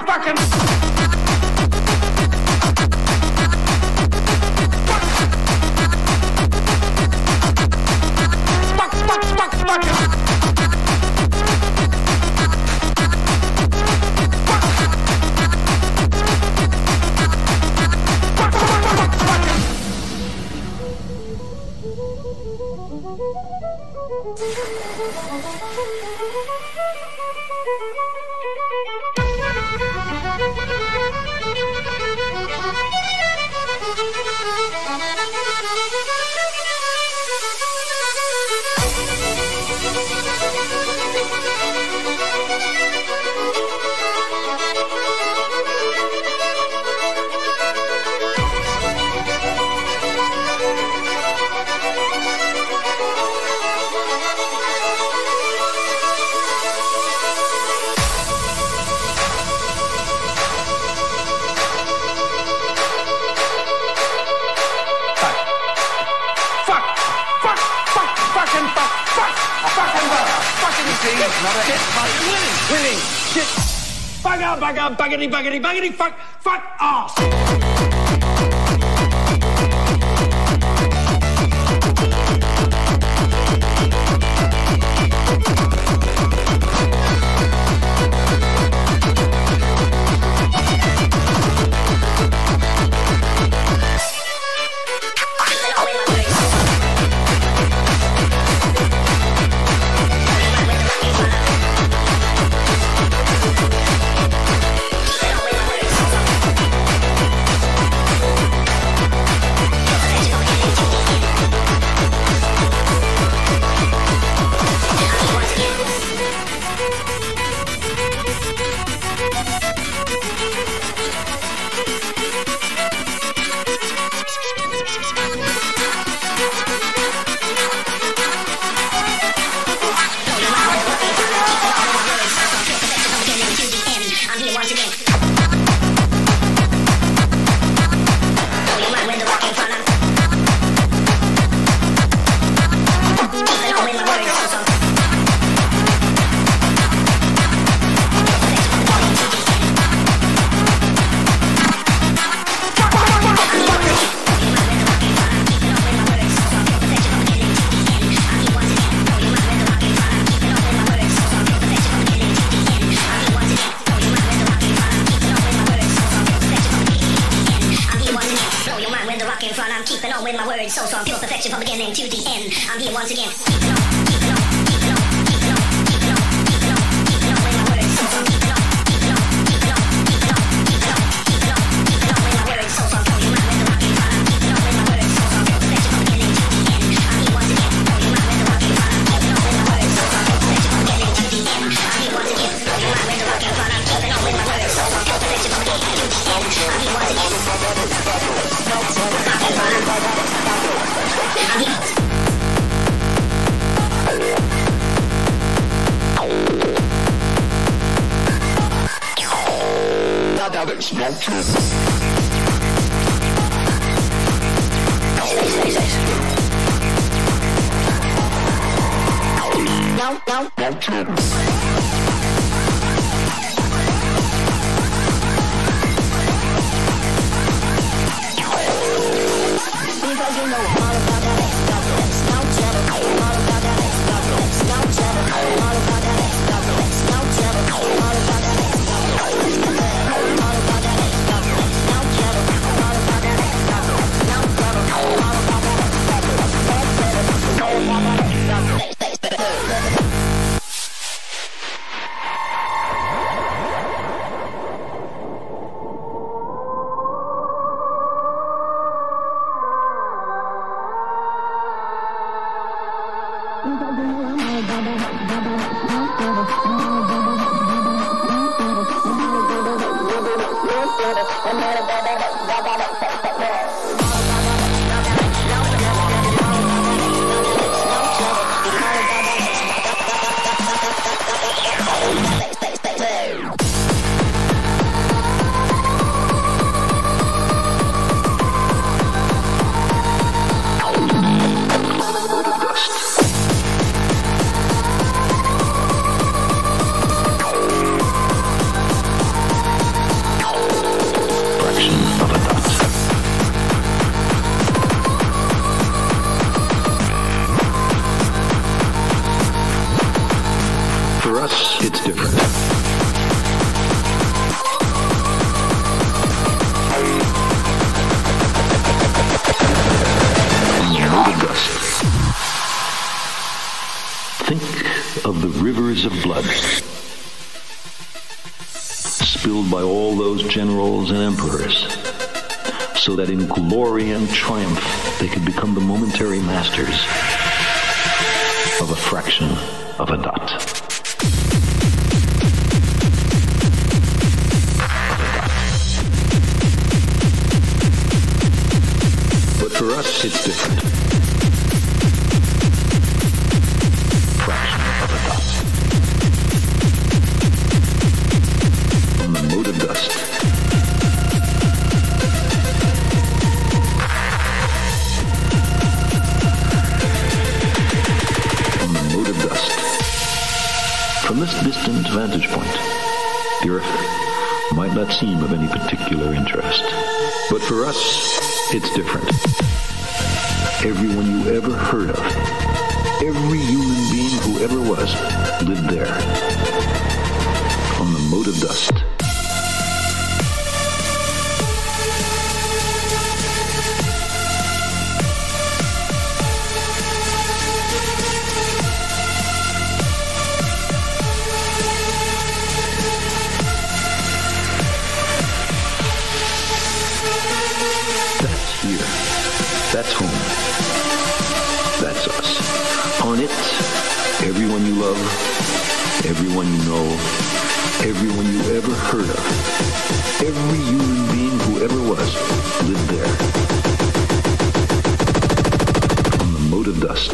Baggity, baggity, baggity, fuck, fuck off! blood, spilled by all those generals and emperors, so that in glory and triumph they could become the momentary masters of a fraction of a dot. But for us, it's different. Fraction of a dot. On the mote of dust. On the mote of dust. From this distant vantage point, the Earth might not seem of any particular interest. But for us, it's different. Everyone you ever heard of, every human being who ever was, lived there. On the mote of dust. That's home. That's us. On it, everyone you love, everyone you know, everyone you ever heard of, every human being who ever was, lived there. On the mote of dust.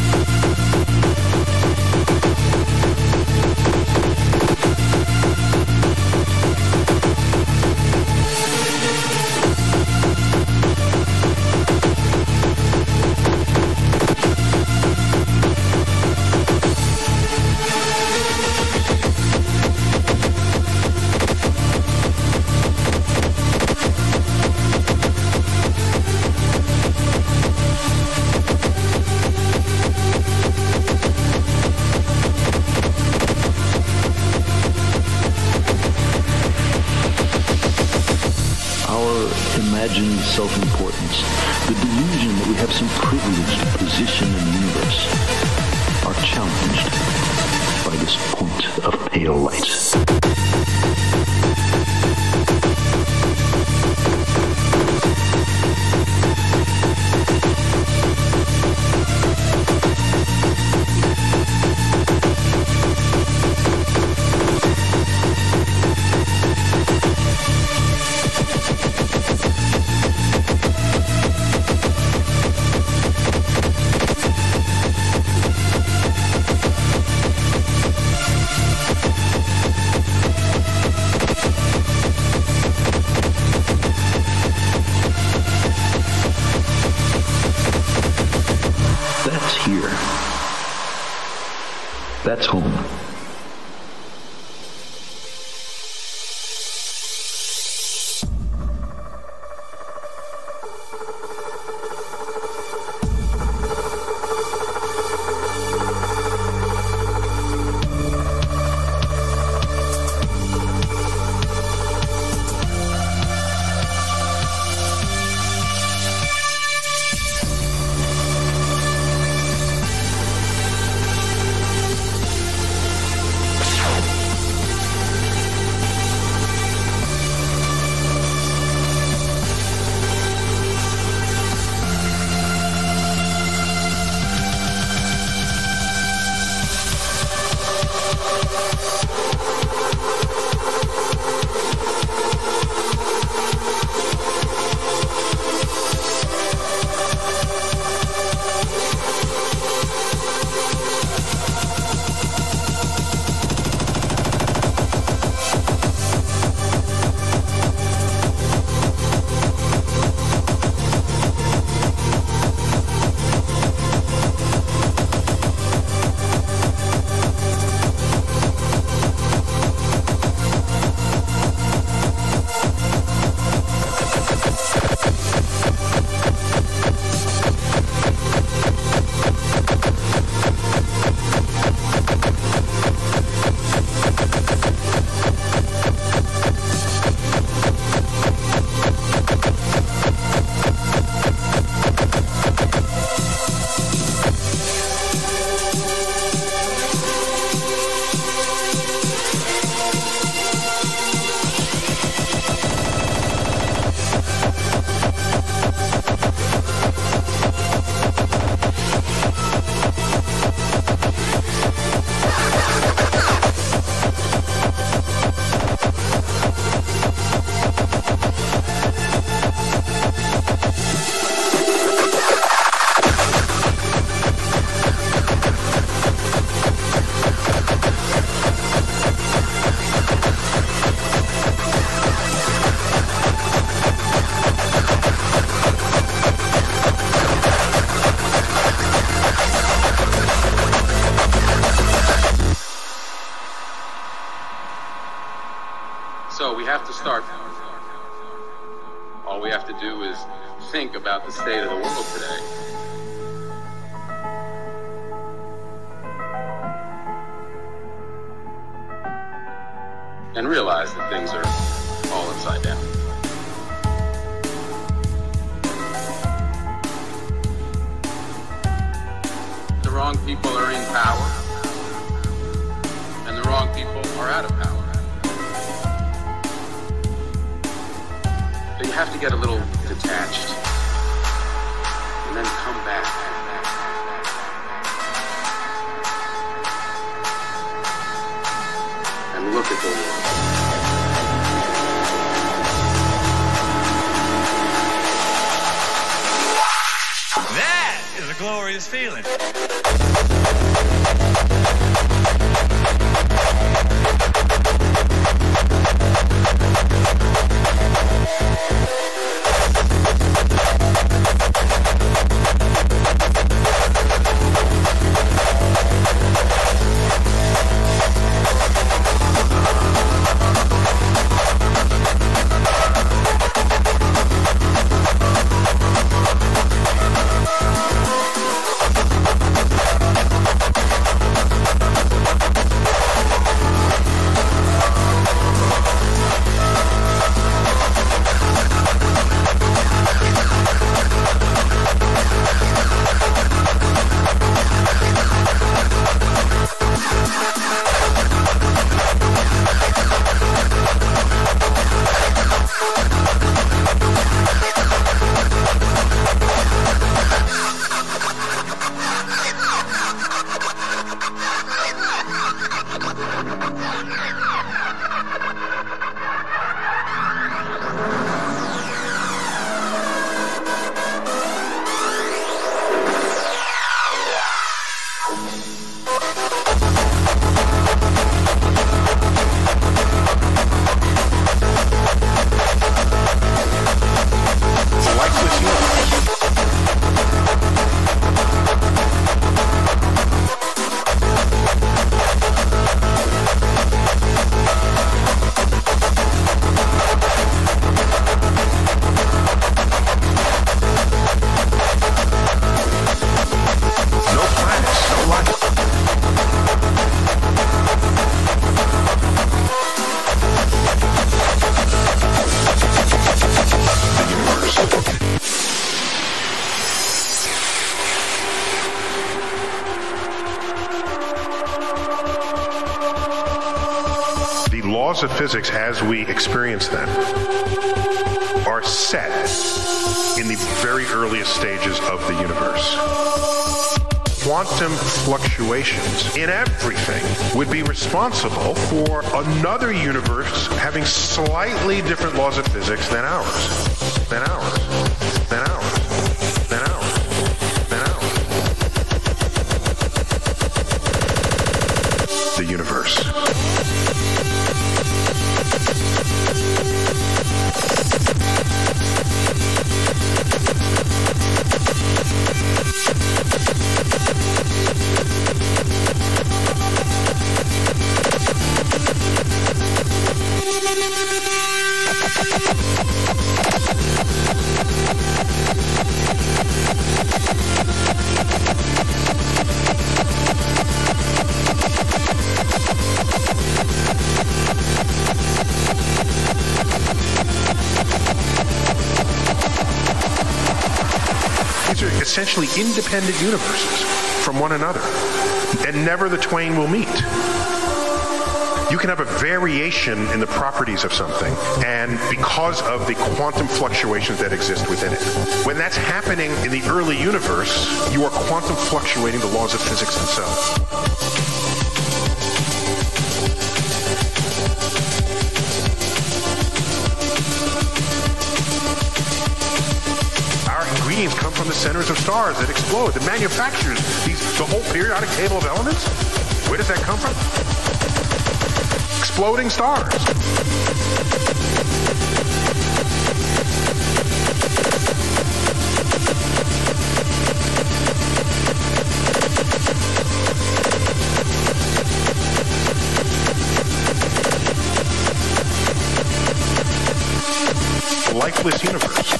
Imagined self-importance, the delusion that we have some privileged position in the universe, are challenged by this point of pale light. That's home. So we have to start. All we have to do is think about the state of the world today. And realize that things are all upside down. The wrong people are in power, and the wrong people are out of power. So you have to get a little detached, and then come back. And look at the world. That is a glorious feeling. Laws of physics as we experience them are set in the very earliest stages of the universe. Quantum fluctuations in everything would be responsible for another universe having slightly different laws of physics than ours, than ours, than ours, than ours, than ours. The universe. Essentially independent universes from one another, and never the twain will meet. You can have a variation in the properties of something, and because of the quantum fluctuations that exist within it. When that's happening in the early universe, you are quantum fluctuating the laws of physics themselves. Come from the centers of stars that explode, that manufactures these, the whole periodic table of elements. Where does that come from? Exploding stars. lifeless universe.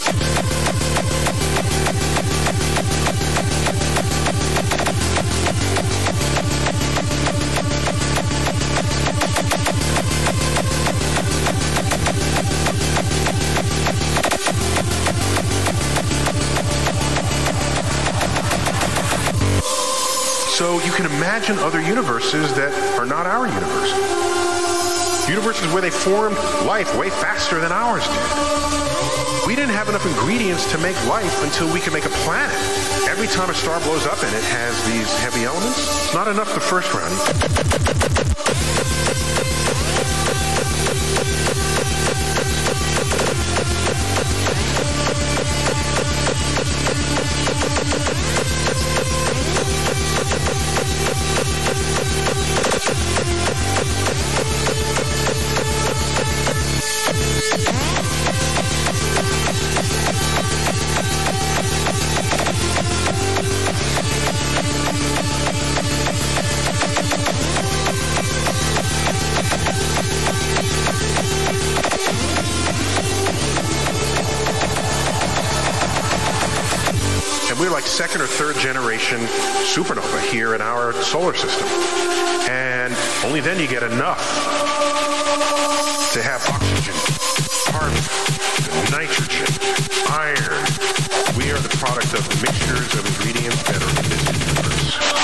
So you can imagine other universes that are not our universe. Universes where they formed life way faster than ours did. We didn't have enough ingredients to make life until we could make a planet. Every time a star blows up and it has these heavy elements, it's not enough the first round. We're like second or third generation supernova here in our solar system. And only then you get enough to have oxygen, carbon, nitrogen, iron. We are the product of mixtures of ingredients that are in this universe.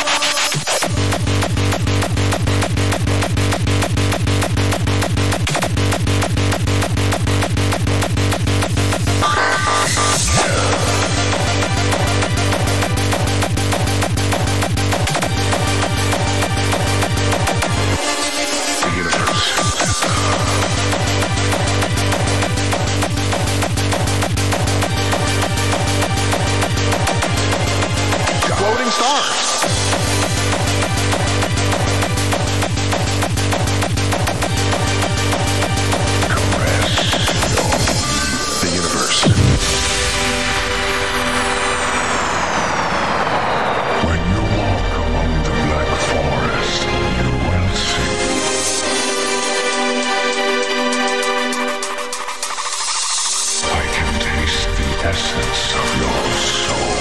Floating stars. The universe. When you walk among the black forest, you will see. I can taste the essence of your soul.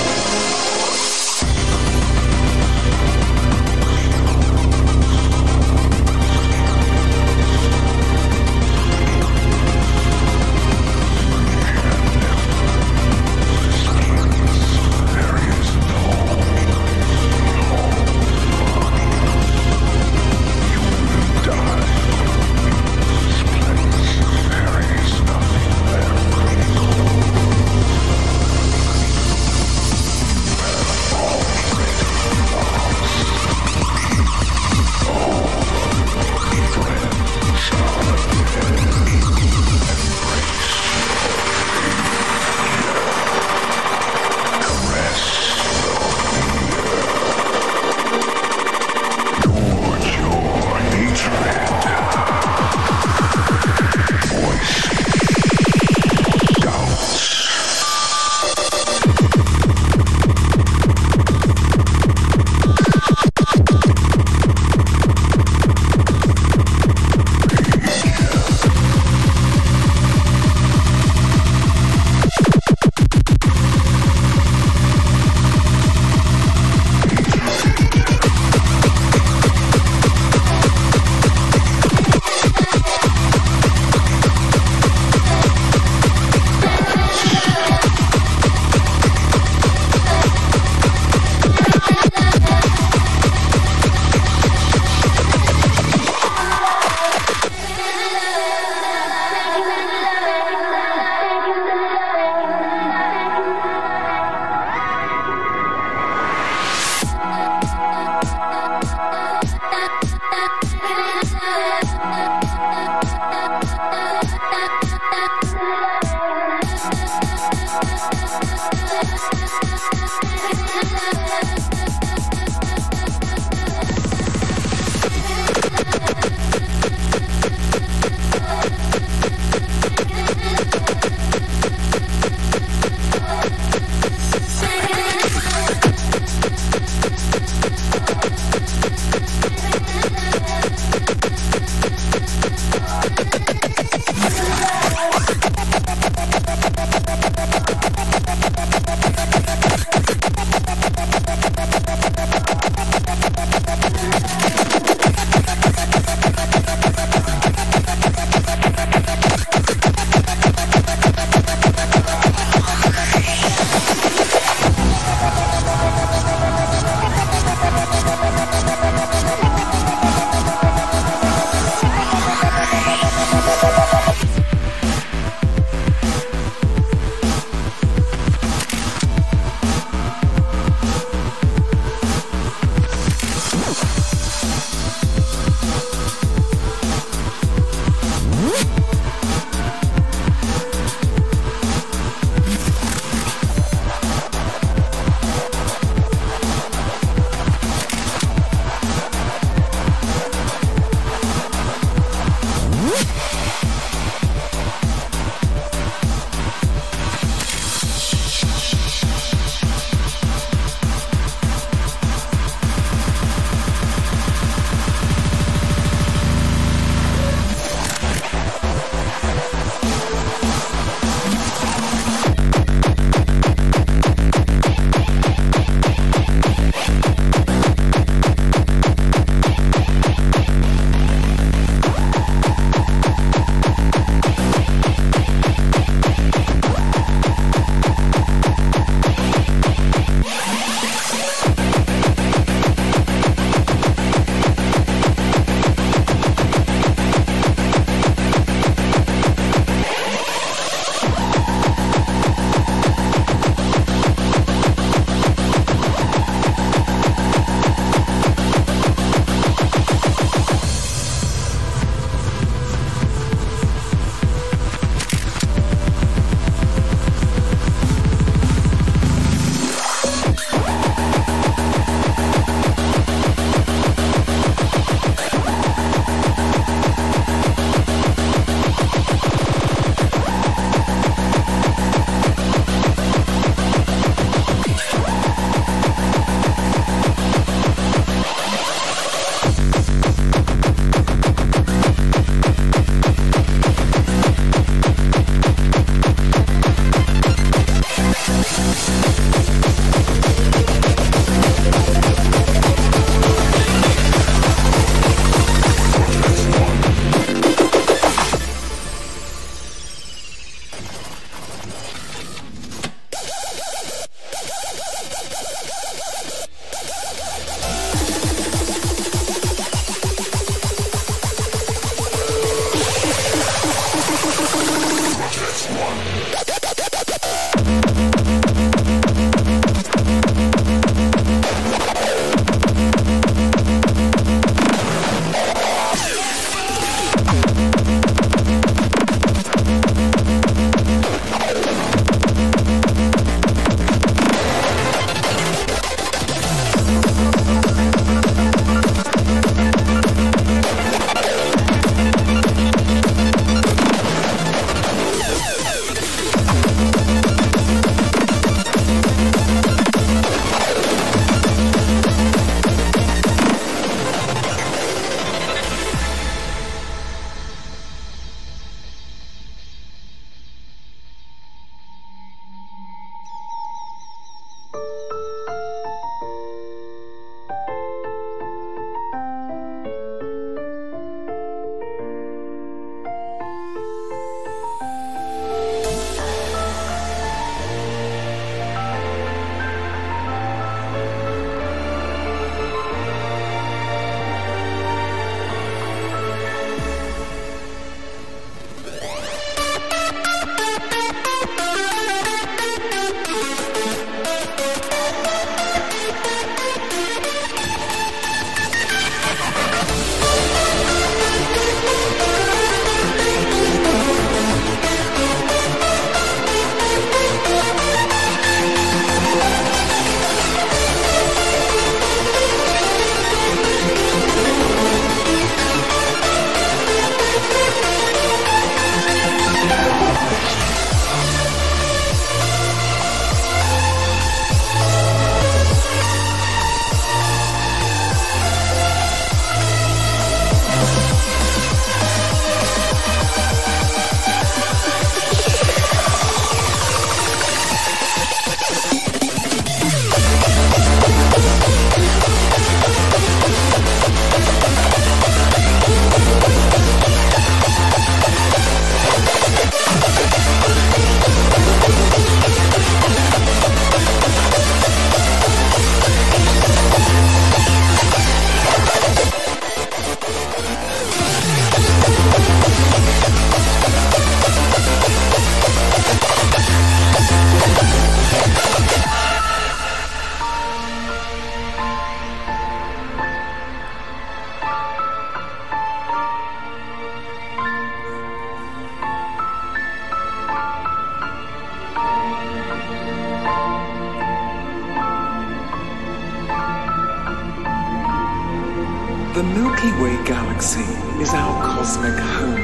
The Milky Way galaxy is our cosmic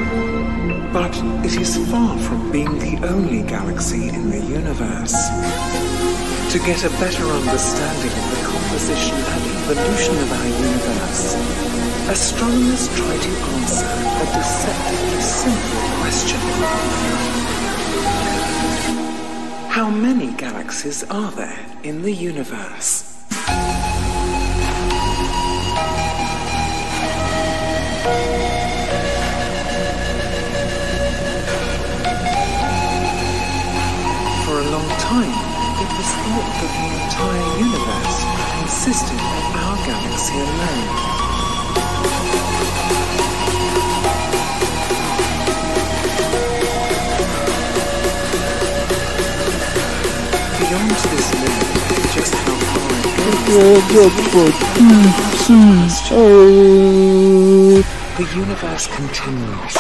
home, but it is far from being the only galaxy in the universe. To get a better understanding of the composition and evolution of our universe, astronomers try to answer a deceptively simple question. How many galaxies are there in the universe? For a long time, it was thought that the entire universe consisted of our galaxy alone. Beyond this limit, just how far it goes, the universe continues.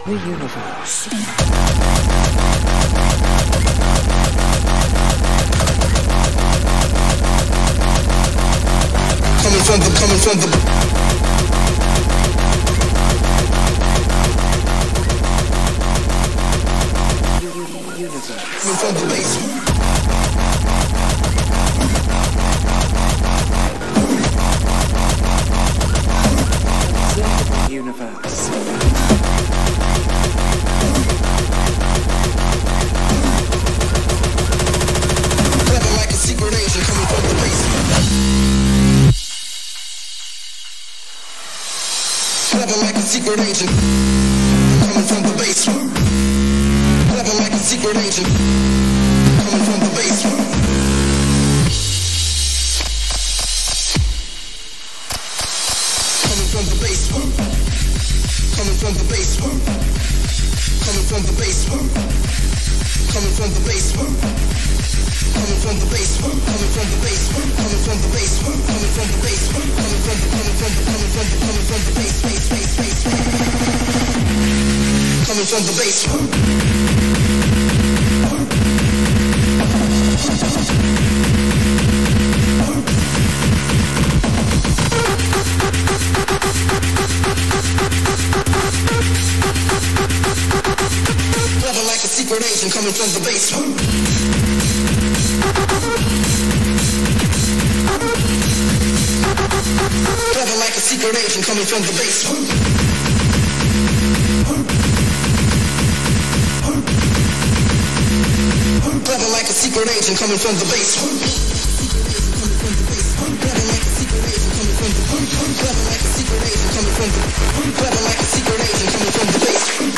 the universe. Coming from the, coming from the universe. Coming from the basement. Observe the universe. Clever like a secret agent coming from the basement. Clever like a secret agent coming from the basement. Clever like a secret agent coming from the basement. Coming from the basement. Coming from the basement. Coming from the basement. Coming from the basement. Coming from the basement. Coming from the basement. Coming from the basement. Coming from the basement. Coming from the coming from the coming from the coming from the base base base base. Coming from the basement. Clever like a secret agent coming from the basement. Clever like a secret agent coming from the basement. Clever like a secret agent coming from the basement. Clever like a secret agent coming from the Clever like a secret agent coming from the Clever like a secret agent coming from the basement.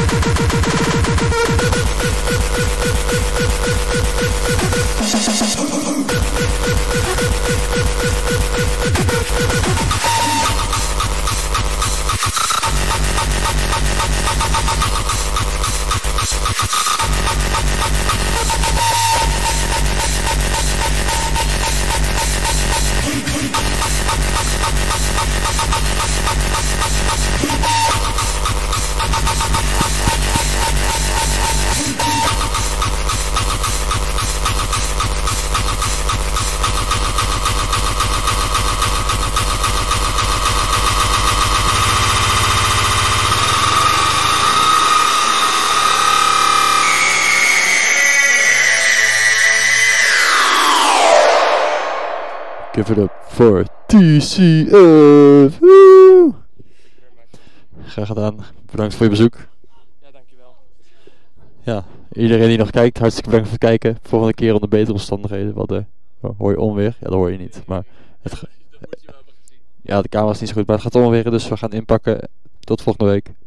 Give it up for T C F. Woe! Graag gedaan. Bedankt voor je bezoek. Ja, dankjewel. Ja, iedereen die nog kijkt, hartstikke bedankt voor het kijken. Volgende keer onder betere omstandigheden. Wat de, oh, hoor je onweer? Ja, dat hoor je niet. Maar het, ja, de camera is niet zo goed, maar het gaat onweer, dus we gaan inpakken. Tot volgende week.